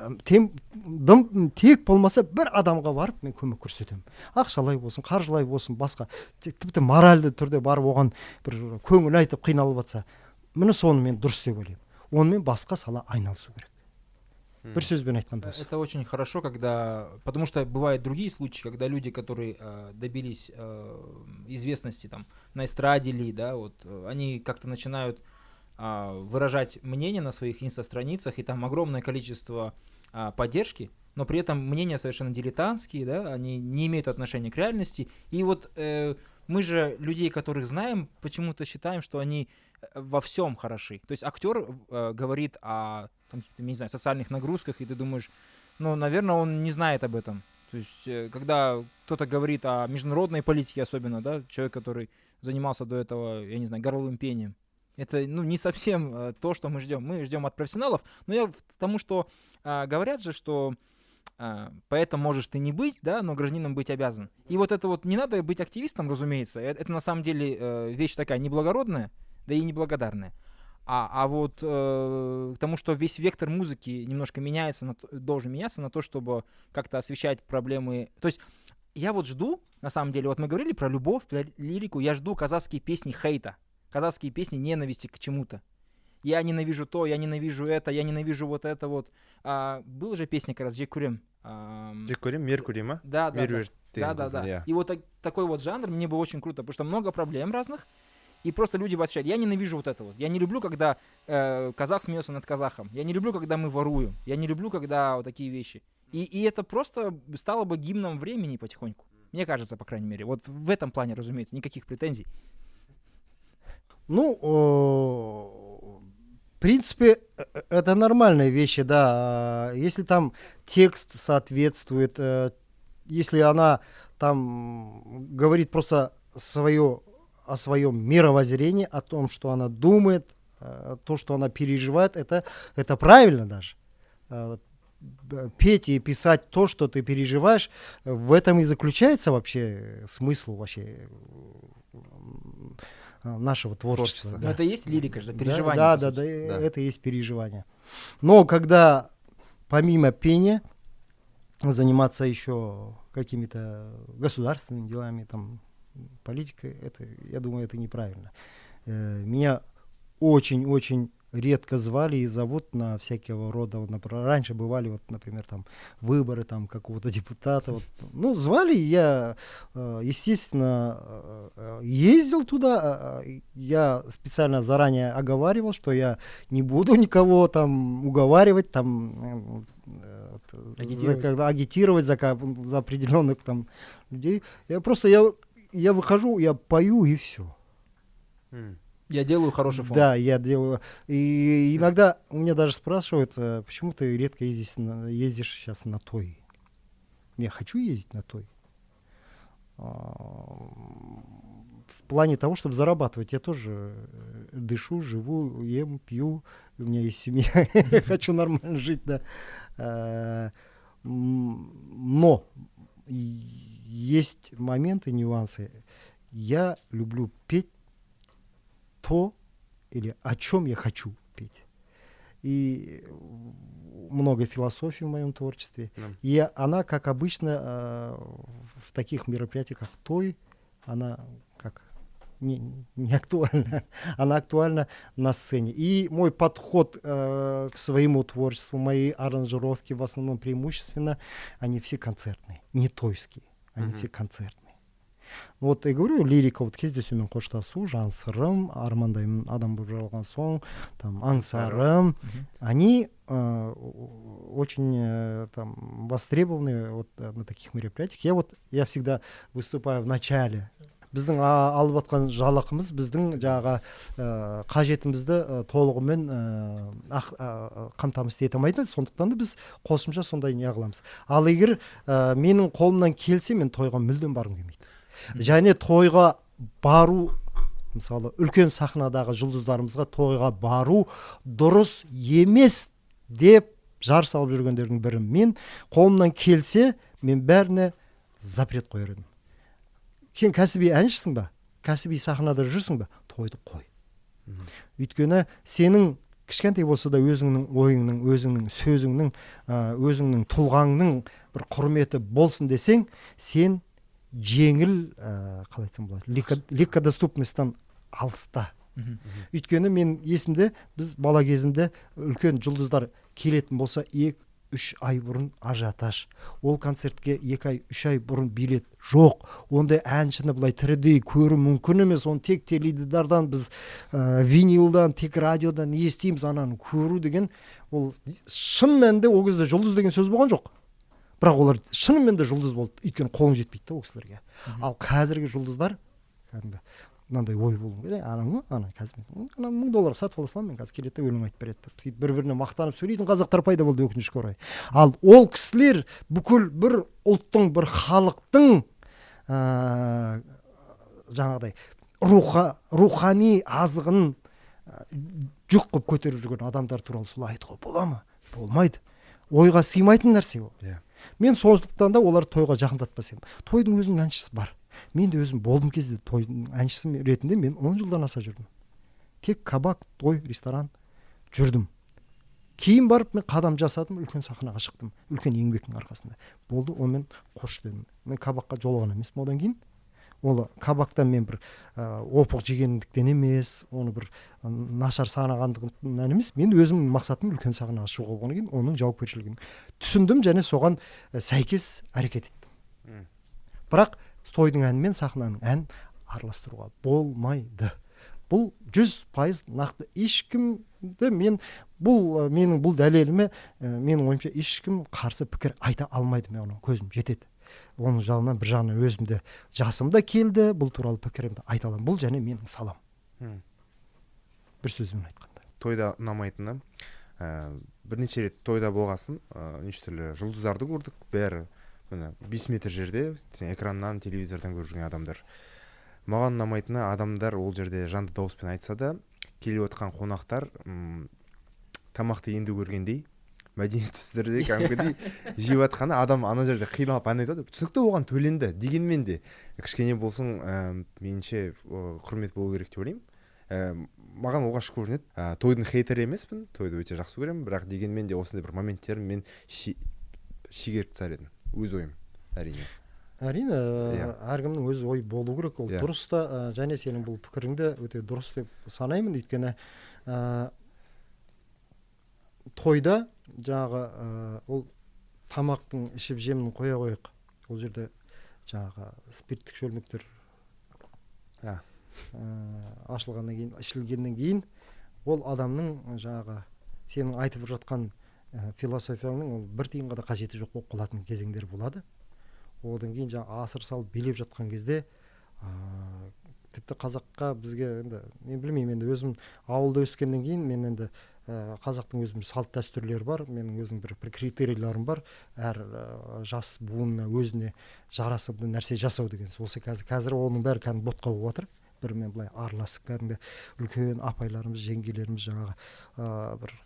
мен тек болмаса бір адамға барып мен көмек көрсетемін. Ақшалай болсын, қаржылай болсын, басқа тіпті моральды түрде барып оған бір көңіл айтып қиналып жатса, міне соны мен дұрыс деп ойлаймын. Онымен басқа сала айналысу керек. Бір сөзбен айтқанда осы. Это очень хорошо, когда, потому что бывают другие случаи, когда люди, которые добились известности там на эстраде ли, да, вот они как-то начинают выражать мнение на своих инста-страницах, и там огромное количество поддержки, но при этом мнения совершенно дилетантские, да, они не имеют отношения к реальности. И вот мы же людей, которых знаем, почему-то считаем, что они во всем хороши. То есть актер говорит о там, не знаю, социальных нагрузках, и ты думаешь, ну, наверное, он не знает об этом. То есть когда кто-то говорит о международной политике особенно, да, человек, который занимался до этого, я не знаю, горловым пением, это, ну, не совсем то, что мы ждем. Мы ждем от профессионалов, но я к тому, что говорят же, что поэтом можешь ты не быть, да, но гражданином быть обязан. И вот это вот, не надо быть активистом, разумеется, это на самом деле вещь такая неблагородная, да и неблагодарная. А вот к тому, что весь вектор музыки немножко меняется, должен меняться на то, чтобы как-то освещать проблемы. То есть я вот жду, на самом деле, вот мы говорили про любовь, про лирику, я жду казахские песни хейта, казахские песни ненависти к чему-то. Я ненавижу то, я ненавижу это, я ненавижу вот это вот. Была же песня как раз «Жекурем». «Жекурем», «Меркурим», а? Да. И вот такой вот жанр мне бы очень круто, потому что много проблем разных. И просто люди восхищают. Я ненавижу вот это вот. Я не люблю, когда казах смеется над казахом. Я не люблю, когда мы воруем. Я не люблю, когда вот такие вещи. И это просто стало бы гимном времени потихоньку. Мне кажется, по крайней мере. Вот в этом плане, разумеется, никаких претензий. Ну, принципе, это нормальные вещи, да. Если там текст соответствует, если она там говорит просто о своем мировоззрении, о том, что она думает, то, что она переживает, это правильно даже. Петь и писать то, что ты переживаешь, в этом и заключается вообще смысл вообще нашего творчества. Но это и есть лирика же, Да, переживание. да, это и есть переживание. Но когда помимо пения заниматься еще какими-то государственными делами, там, политикой, это, я думаю, это неправильно. Меня очень-очень редко звали и зовут на всякого рода, вот, например, раньше бывали, вот, например, там, выборы там, какого-то депутата, вот, ну, звали, я, естественно, ездил туда, я специально заранее оговаривал, что я не буду никого там уговаривать, там, агитировать за определенных там людей. Я выхожу, я пою и все. Я делаю хороший фон. Да, я делаю. И иногда у меня даже спрашивают, почему ты редко ездишь сейчас на той. Я хочу ездить на той. В плане того, чтобы зарабатывать. Я тоже дышу, живу, ем, пью. У меня есть семья. Хочу нормально жить, да. Но есть моменты, нюансы. Я люблю петь то или о чем я хочу петь. И много философии в моем творчестве. И она, как обычно, в таких мероприятиях, как той, она как не актуальна. Она актуальна на сцене. И мой подход к своему творчеству, мои аранжировки в основном преимущественно, они все концертные, не тойские, они все концертные. Вот я говорю, лирика, вот кездесумен қоштасу, жан сырым, армандаймын адам болып жаралған соң, там, аңсарым, они очень там востребованы вот на таких мероприятиях. Я всегда выступаю в начале. Біздің алып атқан жалақымыз біздің жаңағы қажетімізді толығымен қамтамасыз ете алмайды, сондықтан да біз қосымша сондай не қыламыз. Ал егер менің қолымнан келсе, мен тойға мүлдем барғым келмейді. Және тойға бару, мысалы үлкен сахнадағы жұлдыздарымызға тойға бару дұрыс емес деп жар салып жүргендердің бірі. Мен қолымнан келсе, мен бәріне запрет қояр едім. Сен кәсіби әншісің ба? Кәсіби сахнада жүрсің ба? Тойды қой. Өйткені сенің кішкентай болса да өзіңнің ойыңның, өзіңнің сөзіңнің, өзіңнің тұлғаңның бір құрметі болсын десең, сен жеңіл, қалай айтсам болады, легкодоступностьтан алыста. Өйткені мен есімде, біз бала кезімде үлкен жұлдыздар келетін болса, 2-3 ай бұрын ажиотаж. Ол концертке 2 ай, 3 ай бұрын билет жоқ. Ондай әншіні бұлай тірідей көру мүмкін емес. Оны тек теледидардан, біз винилдан, тек радиодан естиміз, ананы көру деген, ол шын мәнінде ол кезде жұлдыз деген сөз болған жоқ. Бірақ олар шынымен де жұлдыз болды. Өйткені қолың жетпейді да ол кісілерге. Ал қазіргі жұлдыздар, кәдімгі мынандай ой болу керек. Ана қазір $1000 сатып ала саламын, мен қазір келеді де өлең айтып береді. Сөйтіп бір-біріне мақтанып сөйлейтін қазақтар пайда болды, өкінішке орай. Ал ол кісілер бүкіл бір ұлттың, бір халықтың жаңағыдай рухани азығын жүк қылып көтеріп жүрген адамдар туралы солай айтуға бола ма? Болмайды. Ойға сыймайтын нәрсе ол. Мен сондықтан да олар тойға жақындатпас едім. Тойдың өзінің әншісі бар. Мен де өзім болдым кезде тойдың әншісі ретінде мен 10 жылдан аса жүрдім. Тек кабак, той, ресторан жүрдім. Кейін барып мен қадам жасадым, үлкен сахнаға шықтым. Үлкен еңбектің арқасында. Болды, онымен қош дедім. Мен кабакқа жолаған емеспін одан кейін. Ол кабактан мен бір опық жегендіктен емес, оны бір нашар санағандығынан емес, мен өзімнің мақсатым үлкен сахнаға шығу болғаннан кейін оның жауапкершілігін түсіндім және соған сәйкес әрекет еттім. Бірақ тойдың әні мен сахнаның ән араластыруға болмайды. Бұл 100% нақты. Ешкімді менің бұл дәлеліме, менің ойымша ешкім қарсы пікір айта алмайды, мен оның көзім жетеді. Оның жағынан бір жағынан өзімді жасым да келді, бұл туралы пікірімді айта аламын. Бұл және менің салам. Бір сөзбен айтқанда. тойда ұнамайтыны, бірнеше рет тойда болғасын, неше түрлі жұлдыздарды көрдік, бәрі міне 5 метр жерде экраннан, телевизордан көріп жүрген адамдар. Маған ұнамайтыны, адамдар ол жерде жанды дауыспен айтса да, келіп отқан қонақтар тамақты енді көргендей, мәдениетсіз түрде кәдімгідей жеп жатқаны, адам ана жерде қиналып ән айтады. Түсінікті, оған төленді, дегенмен де кішкене болсын меніңше құрмет болу керек деп ойлаймын. Маған оғаш көрінеді. Тойдың хейтері емеспін, тойды өте жақсы көремін, бірақ дегенмен де осындай бір моменттерін мен шегеріп тастар едім, өз ойым, әрине. Әрине, әркімнің өз ой болу керек, ол дұрыс та, және сенің бұл пікіріңді өте дұрыс деп санаймын, өйткені тойда жаңағы ол тамақтың ішіп жемін қоя қойық, ол жерде жаңағы спирттік шөлмектер ашылғаннан кейін, ішілгеннен кейін, ол адамның жаңағы сенің айтып жатқан философияңның ол бір тиынға да қажеті жоқ болып қалатын кезеңдер болады. Одан кейін жаңа асыр салып билеп жатқан кезде тіпті қазаққа бізге енді мен білмеймін, енді өзім ауылда өскеннен кейін мен енді қазақтың өзінің салт дәстүрлері бар, менің өзім бір критерийлерім бар, әр жас буынына өзіне жарасымды нәрсе жасау деген. Осы қазір оның бәрі кәдімгі ботқа болып жатыр. Бірімен былай араласып, кәдімгі үлкен апайларымыз, жеңгелеріміз жаңағы бір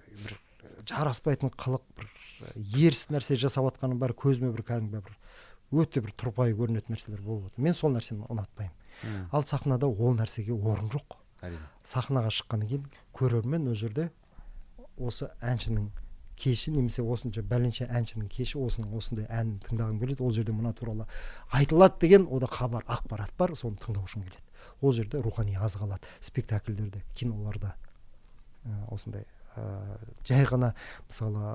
жараспайтын қылық, бір еріс нәрсе жасап жатқанын бәрі көзіме бір кәдімгі бір өте бір тұрпайы көрінетін нәрселер болып отыр. Мен сол нәрсені ұнатпаймын. Ал сахнада ол нәрсеге орын жоқ. Сахнаға шыққаннан кейін көрермен ол жерде осы әншінің кеші, немесе осынша бәленше әншінің кеші, осындай әнін тыңдағым келеді, ол жерде мына туралы айтылады деген ода хабар, ақпарат бар, соны тыңдау үшін келеді. Ол жерде рухани азық алады. Спектакльдерде, киноларда осындай жай ғана мысалы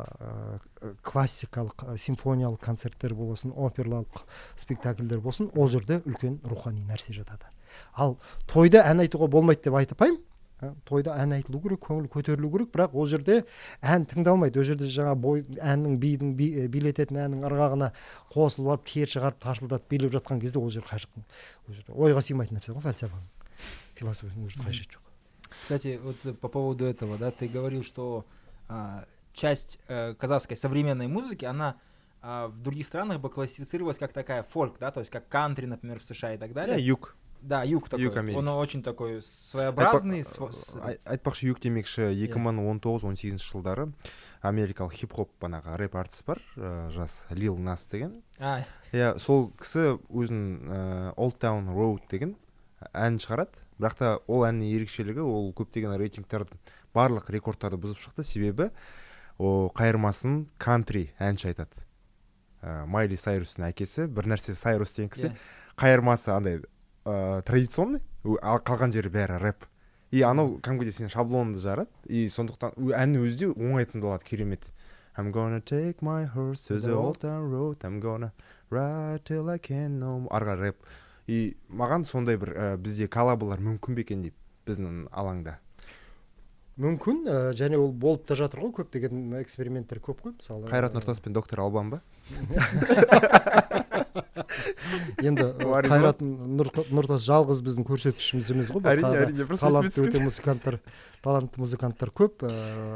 классикалық симфониялық концерттер болсын, оперлалық спектакльдер болсын, ол жерде үлкен рухани нәрсе жатады. Ал тойда ән айтуға болмайды деп айтпаймын. Тойда ән айтылу керек, көңіл көтерілу керек, бірақ ол жерде ән тыңдалмайды. Ол жерде жаңа әннің билететін әннің ырғағына қосылып алып, тер шығарып, тарсылдатып билеп жатқан кезде ол жер ойға сыймайтын нәрсе ғой, фальсафаның, философияның уже қажеті жоқ. Кстати, вот по поводу этого, да, ты говорил, что часть казахской современной музыки, она в других странах бы классифицировалась как такая фольк, да, то есть как кантри, например, в США и так далее. Юг. Да, юг такой. Он очень такой своеобразный. Айтпақшы, юг демекші 2019-18 жылдары америкалық хип-хоп банағы рэп артист бар, жас Lil Nas деген. Сол кісі өзін Old Town Road деген ән шығарады. Бірақ та ол әннің ерекшелігі, ол көптеген рейтингтердің барлық рекордтарды бұзып шықты, себебі қайырмасын кантри әнші айтады. Майли Сайрустың әкесі, бір нәрсе Сайрус деген кісі, қайырмасы андай традиционный, қалған жері бәрі рэп. И анау кәдімгідей сен шаблонды жарады, и сондықтан әннің өзі де оңай тыңдалады, керемет. I'm gonna take my horse to the old town road, I'm gonna ride till I can no more. Арға рэп. И маған сондай бір бізде коллаболар мүмкін бе екен деп, біздің алаңда. Мүмкін, және ол болып та жатыр ғой, көптеген эксперименттер көп қой, мысалы. Қайрат Нұртас пен доктор Албан ба? Енді Қайрат Нұртас жалғыз біздің көрсеткішіміз емес ғой, басқа талантты музыканттар көп,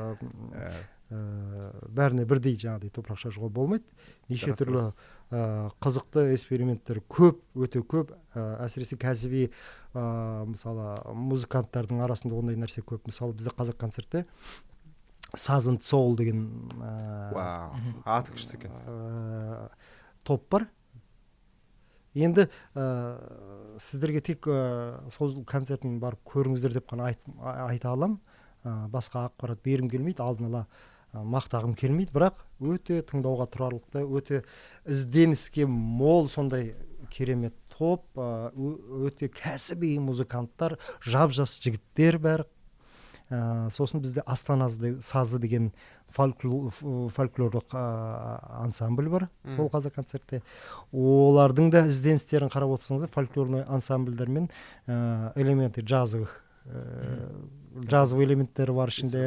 бәріне бірдей жаңағыдай топырақ шашуға болмайды. Неше түрлі қызықты эксперименттер көп, өте көп, әсіресе кәсіби мысалы музыканттардың арасында ондай нәрсе көп. Мысалы бізде қазақ концертте Сазын Соул деген аты күшті екен топ бар. Енді сіздерге тек сол концертін барып көріңіздер деп қана айта алам. Басқа ақпарат берім келмейді, алдын ала мақтағым келмейді, бірақ өте тыңдауға тұрарлықтай, өте ізденіске мол сондай керемет топ, өте кәсіби музыканттар, жап-жас жігіттер бәрі. Сосын бізде Астана сазы деген фольклорлық ансамбль бар, сол қазақ концертте. Олардың да ізденістерін қарап отырсаңыздар, фольклорный ансамбльдер мен элементы джазовых элементтері бар ішінде,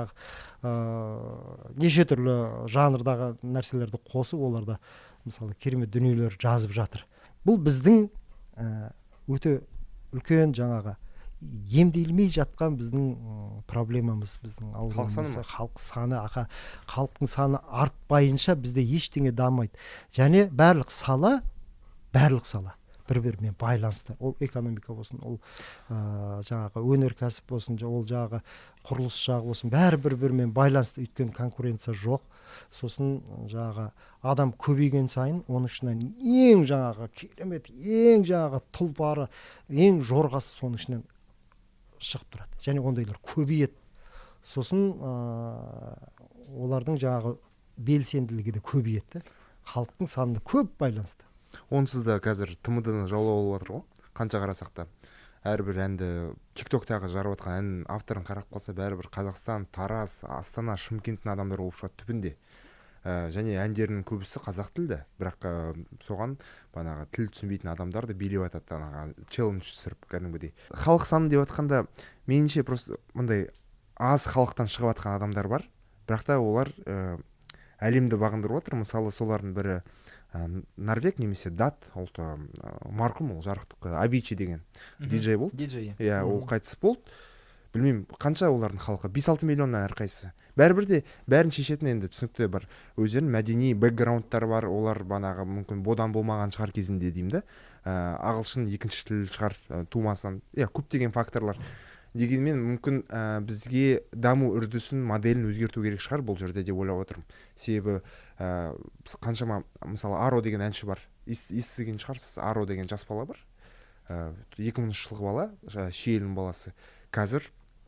неше түрлі жанрдағы нәрселерді қосып, оларда мысалы керемет дүниелер жазып жатыр. Бұл біздің өте үлкен жаңағы емделмей жатқан біздің проблемамыз, біздің аурумыз халық саны. Халықтың саны артпайынша бізде ештеңе дамайды. Және барлық сала бір-бірімен байланысты. Ол экономика болсын, ол жаңағы өнеркәсіп болсын, ол жаңағы құрылыс жағы болсын, бәрі бір-бірімен байланысты. Өйткені конкуренция жоқ. Сосын жаңағы адам көбейген сайын, оның ішінен ең жаңағы керемет, ең жаңағы тұлпары, ең жорғасы соның ішінен шығып тұрады. Және ондайлар көбейеді. Сосын олардың жаңағы белсенділігі де көбейеді. Халықтың санына көп байланысты. Онсыз да қазір ТМД-ны жаулап алып жатыр ғой. Қанша қарасақ та. Әрбір әнді TikTok-тағы жарып жатқан ән авторын қарап қалса, бәрібір Қазақстан, Тараз, Астана, Шымкенттің адамдары болып шығады түбінде. Және әндерінің көбісі қазақ тілді. Бірақ соған банағы тіл түсінбейтін адамдар да билеп жатады, анағы челлендж түсіріп кәдімгідей. Халық саны деп жатқанда, меніңше просто мындай аз халықтан шығып жатқан адамдар бар. Бірақ та олар әлемді бағындырып отыр. Мысалы, солардың бірі Норвег немесе дат ұлты, марқұм, ол жарықтық Авичи деген диджей болды. Иә, ол қайтыс болды. Білмеймін, қанша олардың халқы, 5-6 миллионнан әрқайсысы. Бәрібір де бәрін шешетін енді түсінікті бар. Өздерінің мәдени бэкграундтары бар, олар банағы мүмкін бодан болмаған шығар кезінде деймін да. Ағылшын екінші тіл шығар тумасынан. Иә, көптеген факторлар. Дегенмен мүмкін бізге даму үрдісін, моделін өзгерту керек шығар бұл жерде деп ойлап отырмын. Себебі қаншама, мысалы, Аро деген әнші бар. Естіген шығарсыз, Аро деген жас бала бар. 2000 жылғы бала, Шиелінің баласы. Қазір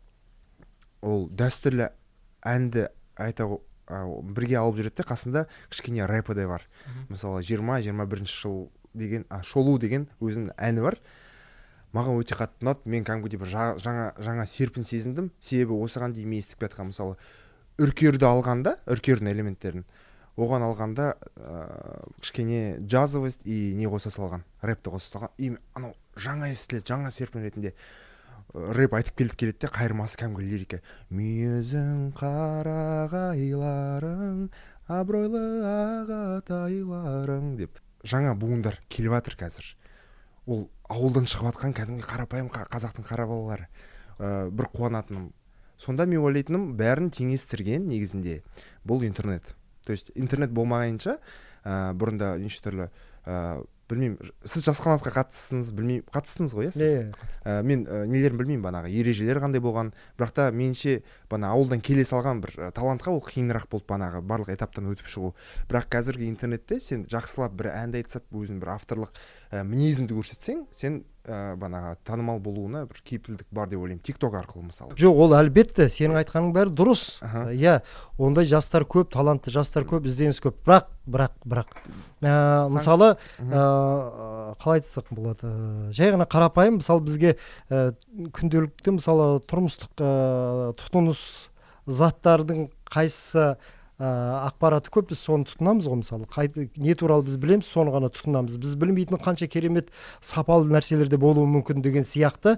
ол дәстүрлі әнді бірге алып жүреді, қасында кішкене рэпі де бар. Мысалы, 20-21 жыл деген, Шолу деген өзінің әні бар. Маған өте қатты ұнады. Мен кәдімгідей бір жаңа серпін сезіндім. Себебі осыған дейін мен естіп жатқан, мысалы, үркерді алғанда, үркердің элементтерін, оған алғанда кішкене джазовость и не қоса салған, рэпті қоса салған. И анау жаңа естіледі, жаңа серпін ретінде рэп айтып келеді де, қайырмасы кәдімгі лирика. Мүйізің қарағайларың, абыройлы ағатайларың деп жаңа буындар келіп жатыр қазір. Ол ауылдан шығып жатқан кәдімгі қарапайым қазақтың қара балалары. Бір қуанатыным. Сонда мен ойлайтыным, бәрін теңестірген негізінде бұл интернет. То есть интернет болмағанша бұрында неше түрлі білмеймін, сіз жас қанатқа қатыстыңыз ғой, иә? Мен нелерін білмеймін, банағы ережелер қандай болған, бірақ та менше бана ауылдан келе салған бір талантқа ол қиынырақ болды банағы барлық этаптан өтіп шығу. Бірақ қазіргі интернетте сен жақсылап бір әнді айтсап, өзің бір авторлық мінезіңді көрсетсең, сен банағы танымал болуына бір кепілдік бар деп ойлаймын, TikTok арқылы мысалы. Жоқ, ол әлбетте сенің айтқаның бәрі дұрыс. Иә, ондай жастар көп, талантты жастар көп, ізденіс көп. Бірақ мысалы, қалай айтсақ болады, жай ғана қарапайым, мысалы бізге күнделікті, мысалы тұрмыстық тұтыныс заттардың қайсысы ақпараты көп, біз соны тұтынамыз ғой. Мысалы не туралы біз білеміз, соны ғана тұтынамыз. Біз білмейтін қанша керемет сапалы нәрселерде болуы мүмкін деген сияқты.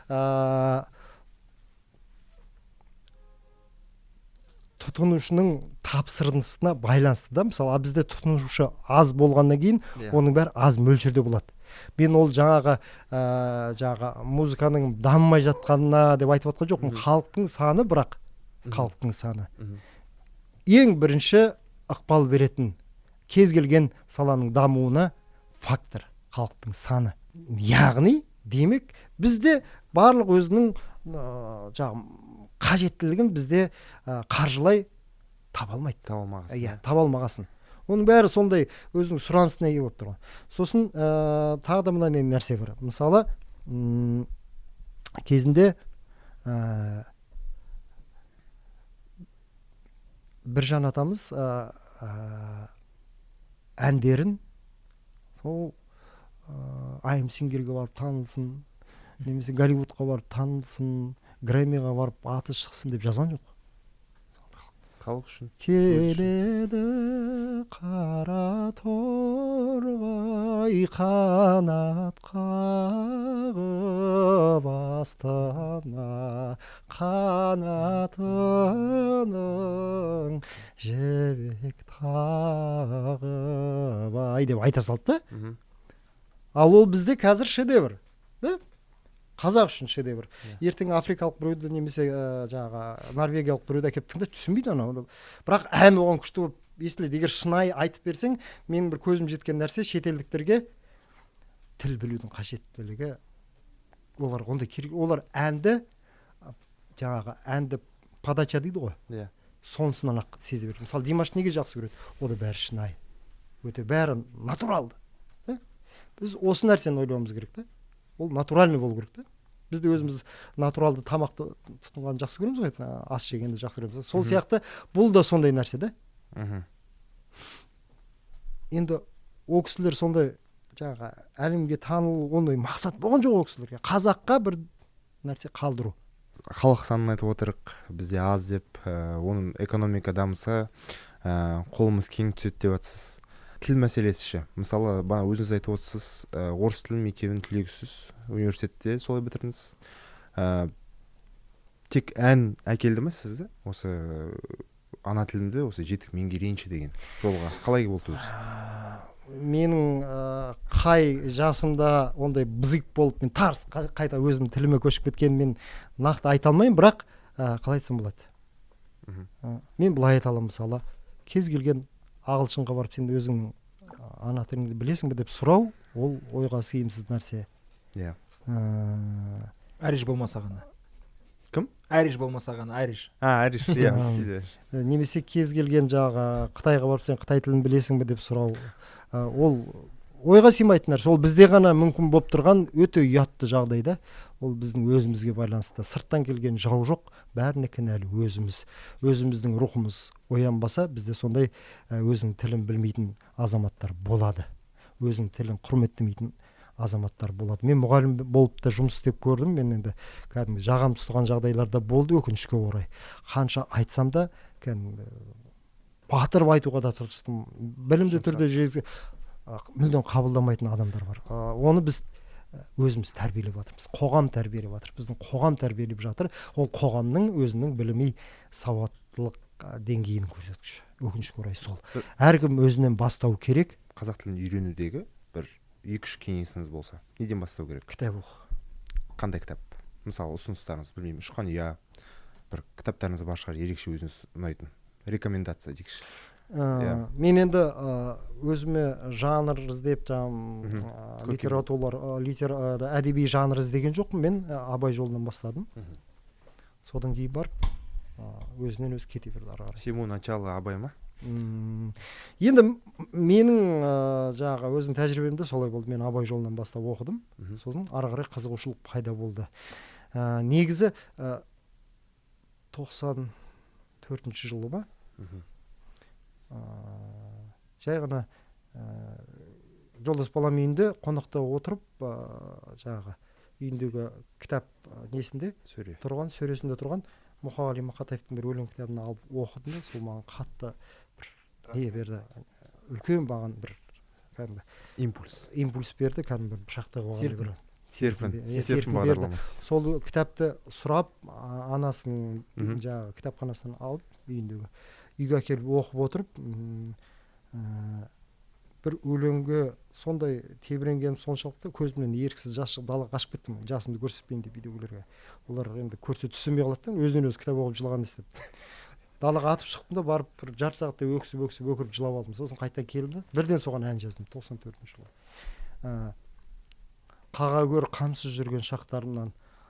Тұтынушының тапсырысына байланысты да. Мысалы бізде тұтынушы аз болғаннан кейін оның бәрі аз мөлшерде болады. Мен ол жаңағы музыканың дамымай жатқанына деп айтып отқан жоқпын. Халықтың саны, бірақ халықтың саны ең бірінші ықпал беретін кез келген саланың дамуына фактор халықтың саны. Яғни, демек, бізде барлық өзінің қажеттілігін бізде қаржылай таба алмағасын. Оның бәрі сондай өзінің сұранысына ие болып тұрған. Сосын тағы да мынандай нәрсе бар. Мысалы, кезінде Біржан атамыз әндерін сол I'm Singer-ге барып танылсын, немесе Голливудқа барып танылсын, Грэммиға барып аты шықсын деп жазған жоқ. Халық үшін. Келеді қара торғай қанат қағып астана, қанатының жібек тағып ай деп айта салды да. Ал ол бізде қазір шедевр. қазақ үшін шедевр. Ертең африкалық біреуді немесе жаңағы норвегиялық біреуді әкеліп тыңда түсінбейді анау. Бірақ ән оған күшті болып естіледі. Егер шынайы айтып берсең, менің бір көзім жеткен нәрсе шетелдіктерге тіл білудің қажеттілігі. Олар ондай керек. Олар әнді подача дейді ғой. Иә. Сонысынан ақ сезе береді. Мысалы Димаш неге жақсы көреді? Ода бәрі шынайы. Өте бәрі натуралды. Біз осы нәрсені ойлауымыз керек та. Ол натуральный болу керек та. Біз де өзіміз натуралды тамақты тұтынғанды жақсы көреміз ғой, ас жегенді жақсы көреміз. Сол сияқты бұл да сондай нәрсе да. Енді о кісілер сондай жаңағы әлемге танылу ондай мақсат болған жоқ о кісілерге. Қазаққа бір нәрсе қалдыру. Халық санын айтып отырық, бізде аз деп, оның экономика дамыса, қолымыз кең түседі деп жатсыз. Тіл мәселесі ше. Мысалы, бана өзіңіз айтып отырсыз, орыс тілі мектебін түлегісіз, университетте солай бітірдіңіз. Тек ән әкелді ме сізді? Осы ана тілімді осы жетік меңгерейінші деген жолға. Қалай болды өзі? Менің қай жасымда ондай бызық болып, мен тарс қайта өзім тіліме көшіп кеткенін мен нақты айта алмаймын, бірақ қалай айтсам болады. Мен былай айта аламын, мысалы, кез келген ағылшынға барып сен өзің ана тіліңді білесің бе деп сұрау, ол ойға сыйымсыз нәрсе. Иә. Ариш болмаса ғана. Кім? Ариш болмаса ғана, Ариш. Ариш, иә. Немесе кез келген жаңағы Қытайға барып сен Қытай тілін білесің бе деп сұрау, ол ойға сыймайтын нәрсе. Ол бізде ғана мүмкін болып тұрған өте ұятты жағдайда. Ол біздің өзімізге байланысты. Сырттан келген жау жоқ, бәріне кінәлі өзіміз. Өзіміздің рухымыз оянбаса, бізде сондай өзінің тілін білмейтін азаматтар болады. Өзінің тілін құрметтемейтін азаматтар болады. Мен мұғалім болып та жұмыс істеп көрдім. Мен енді кәдімгі жағам тұтған жағдайларда болды, өкінішке орай. Қанша айтсам да, батырып айтуға да тырыстым. Білімді түрде мүлдем қабылдамайтын адамдар бар. Оны біз өзіміз тәрбиелеп жатырмыз. Қоғам тәрбиелеп жатыр. Біздің қоғам тәрбиелеп жатыр. Ол қоғамның өзінің білімі, сауаттылық деңгейінің көрсеткіші. Өкінішке орай сол. Әркім өзінен бастау керек. Қазақ тілін үйренудегі бір 2-3 кеңесіңіз болса, неден бастау керек? Кітап оқу. Қандай кітап? Мысалы, ұсыныстарыңыз, білмеймін, ұшқан ұя, бір кітаптарыңыз бар шығар, ерекше өзіңіз ұнайтын. Рекомендация дейікші. Мен енді өзіме жанр іздеп, әдеби жанр іздеген жоқпын. Мен Абай жолынан бастадым. Содан кейін барып, өзінен өзі кете берді ары қарай. Всему начало Абай ма? Енді менің өзім тәжірибемде солай болды. Мен Абай жолынан бастап оқыдым. Сосын ары қарай қызығушылық пайда болды. Негізі 94 жылы ма? Жай ғана жолдас балам үйінде қонақта отырып, үйіндегі кітап несінде тұрған, сөресінде тұрған Мұқағали Мақатаевтың бір өлең кітабын алып оқыдым. Сол маған қатты не берді, үлкен маған бір импульс берді, кәдімгі бір шақтағы серпін бағдарламасы. Сол кітапты сұрап, анасының кітапханасынан алып, үйге әкеліп оқып отырып, бір өлеңге сондай тебіренгенім соншалықты көзімнен еріксіз жас шығып далаға қашып кеттім, жасымды көрсетпейін деп үйдегілерге. Олар енді көрсе түсінбей қалады, өзінен өзі кітап оқып жылаған естіп. Далаға атып шықтым да, барып бір жарты сағаттай өксіп өкіріп жылап алдым. Сосын қайтадан келдім де, бірден соған ән жаздым 94 жылы. Қаға гөр қамсыз жүрген шақтарымнан,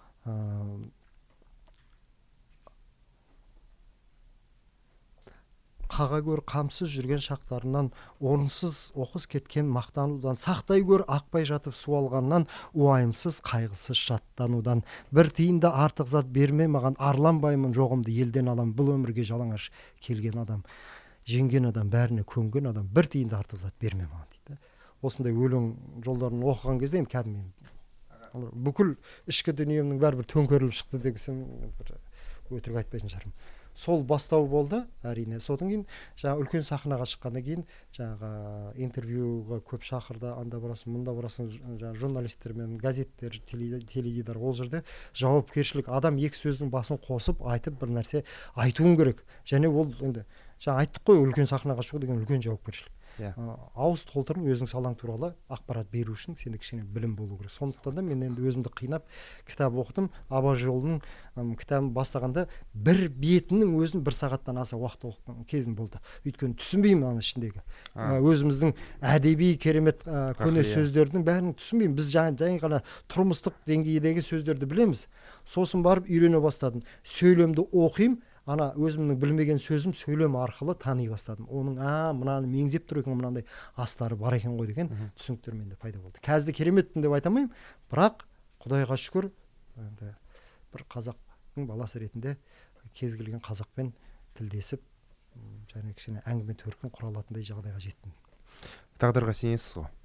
қаға гөр қамсыз жүрген шақтарынан, орынсыз оқыс кеткен мақтанудан, сақтай гөр ақпай жатып суалғаннан, уайымсыз қайғысыз шаттанудан, бір тиында артық зат берме маған, арланбаймын жоғымды елден алам, бұл өмірге жалаңаш келген адам, жеңген адам, бәріне көнген адам, бір тиында артық зат берме маған дейді. Осындай өлең жолдарын оқыған кезде енді кәдімгі бүкіл ішкі дүниемнің бәрі бір төңкеріліп шықты десем, өтірік айтпайтын шығармын. Сол бастау болды, әрине. Содан кейін үлкен сахнаға шыққаннан кейін интервьюға көп шақырды, анда барасың, мұнда барасың, журналистермен, газеттер, теледидар, ол жерде жауапкершілік. Адам екі сөздің басын қосып, айтып бір нәрсе айтуың керек. Және ол енді айттық қой, үлкен сахнаға шығу деген үлкен жауапкершілік. ауыз толтырып өзің салаң туралы ақпарат беру үшін сенде кішкене білім болу керек. Сондықтан да мен енді өзімді қинап кітап оқыдым. Абай жолының кітабын бастағанда бір бетінің өзін 1 сағаттан аса уақыт оқыған кезім болды. Өйткені түсінбеймін ана ішіндегі өзіміздің әдеби керемет көне сөздердің бәрін түсінбеймін. Біз жаңа ғана тұрмыстық деңгейдегі сөздерді білеміз. Сосын барып үйрене бастадым. Сөйлемді оқимын. Ана өзімнің білмеген сөзім сөйлем арқылы тани бастадым. Оның мынаны меңзеп тұр екен, мынандай астары бар екен ғой деген түсініктер менде пайда болды. Қазір кереметтін деп айтамаймын, бірақ Құдайға шүкір, енді бір қазақтың баласы ретінде кез келген қазақпен тілдесіп, және кішкене әңгіме төркін құра алатындай жағдайға жеттім. Тағдырға сенесіз ғой?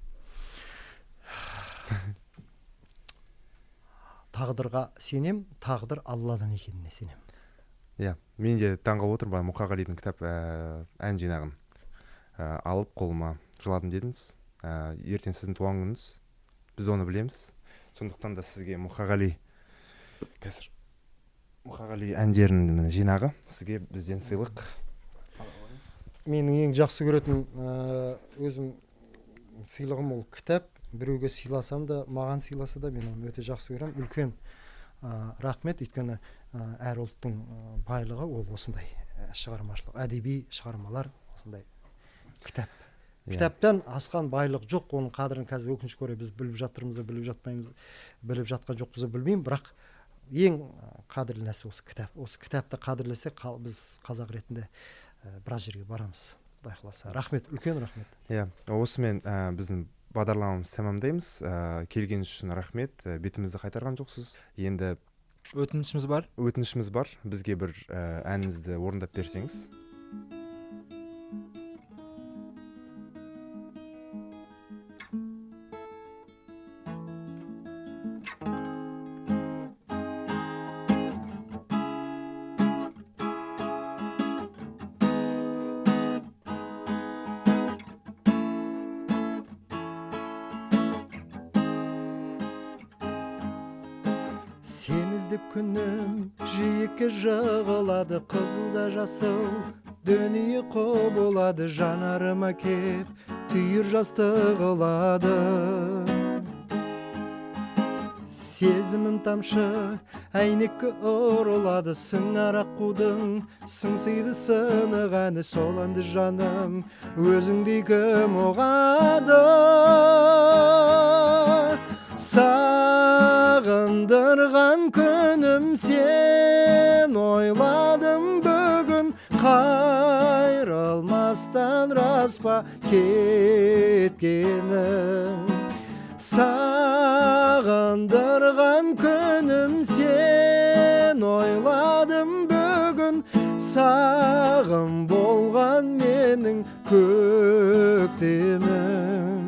Тағдырға сенем, тағдыр Алладан екеніне сенем. Мен де таңғалып отырмын, Мұқағалидың кітап ән жинағын алып қолыма жыладым дедіңіз. Ертең сіздің туған күніңіз, біз оны білеміз. Сондықтан да сізге Мұқағали әндерінің жинағы сізге бізден сыйлық. Менің ең жақсы көретін өзім сыйлығым ол кітап. Біреуге сыйласам да, маған сыйласа да мен оны өте жақсы көремін. Үлкен рахмет, өйткені әр ұлттың байлығы ол осындай шығармашылық, әдеби шығармалар, осындай кітап. Кітаптан асқан байлық жоқ, оның қадірін қазір өкінішке орай біз біліп жатырмыз, біліп жатпаймыз, біліп жатқан жоқпыз, білмеймін, бірақ ең қадірлі нәрсе осы кітап. Осы кітапты қадірлесек, біз қазақ ретінде біраз жерге барамыз. Құдай қаласа. Рахмет, үлкен рахмет. Осымен біздің бағдарламамыз тәмамдаймыз. Келгеніңіз үшін рахмет. Бетімізді қайтарған жоқсыз. Енді өтінішіміз бар. Бізге бір әніңізді орындап берсеңіз. Сен іздеп күнім жиекке жығылады, қызылда жасыл дүние құбылады, жанарыма кеп түйір жасты қылады. Сезімім тамшы әйнекке ұрылады, сыңар аққудың сыңсиды сынығаны, сол әнді жаным өзіңдей кім ұғады. Сағындырған күнім сен, ойладым бүгін, қайрылмастан рас па кеткенім. Сағындырған күнім сен, ойладым бүгін, сағым болған менің көктемім.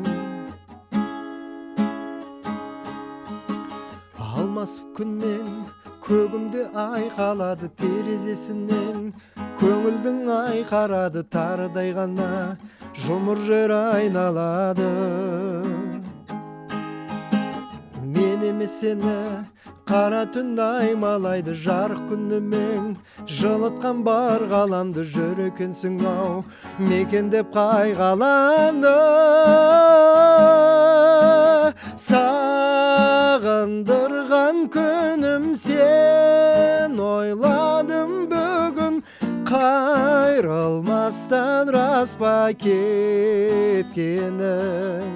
Алмасып күнмен көгімде ай қалады, терезесінен көңілдің ай қарады, тарыдай ғана жұмыр жер айналады. Мен емес сені қара түн аймалайды, жарық күнімен жылытқан бар ғаламды, жүр екенсің ау мекендеп қай ғаламды. Сағындырған күнім сен, ойладым бүгін, қайрылмастан рас па кеткенім.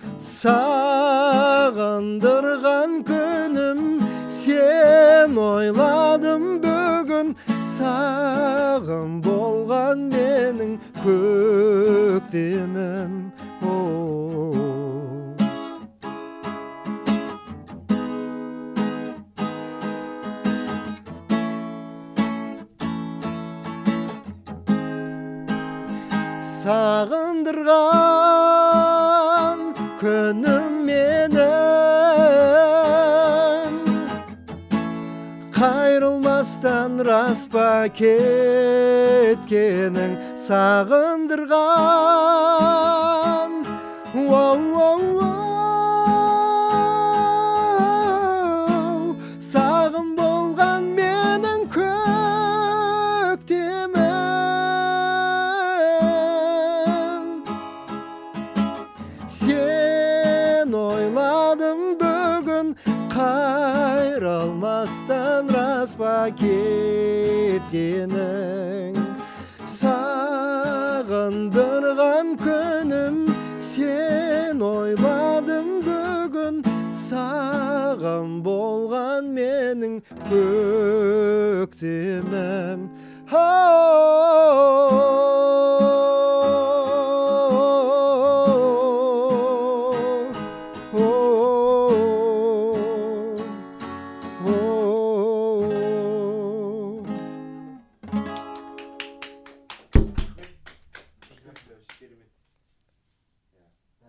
Сағындырған күнім сен, ойладым бүгін, сағым болған менің көктемім. Сағындырған күнім менің, қайрылмастан рас па кеткенің. Сағындырған сағым болған менің көктемім. кеткенің. Сағындырған күнім, сен ойладым бүгін, саған болған менің көктемім.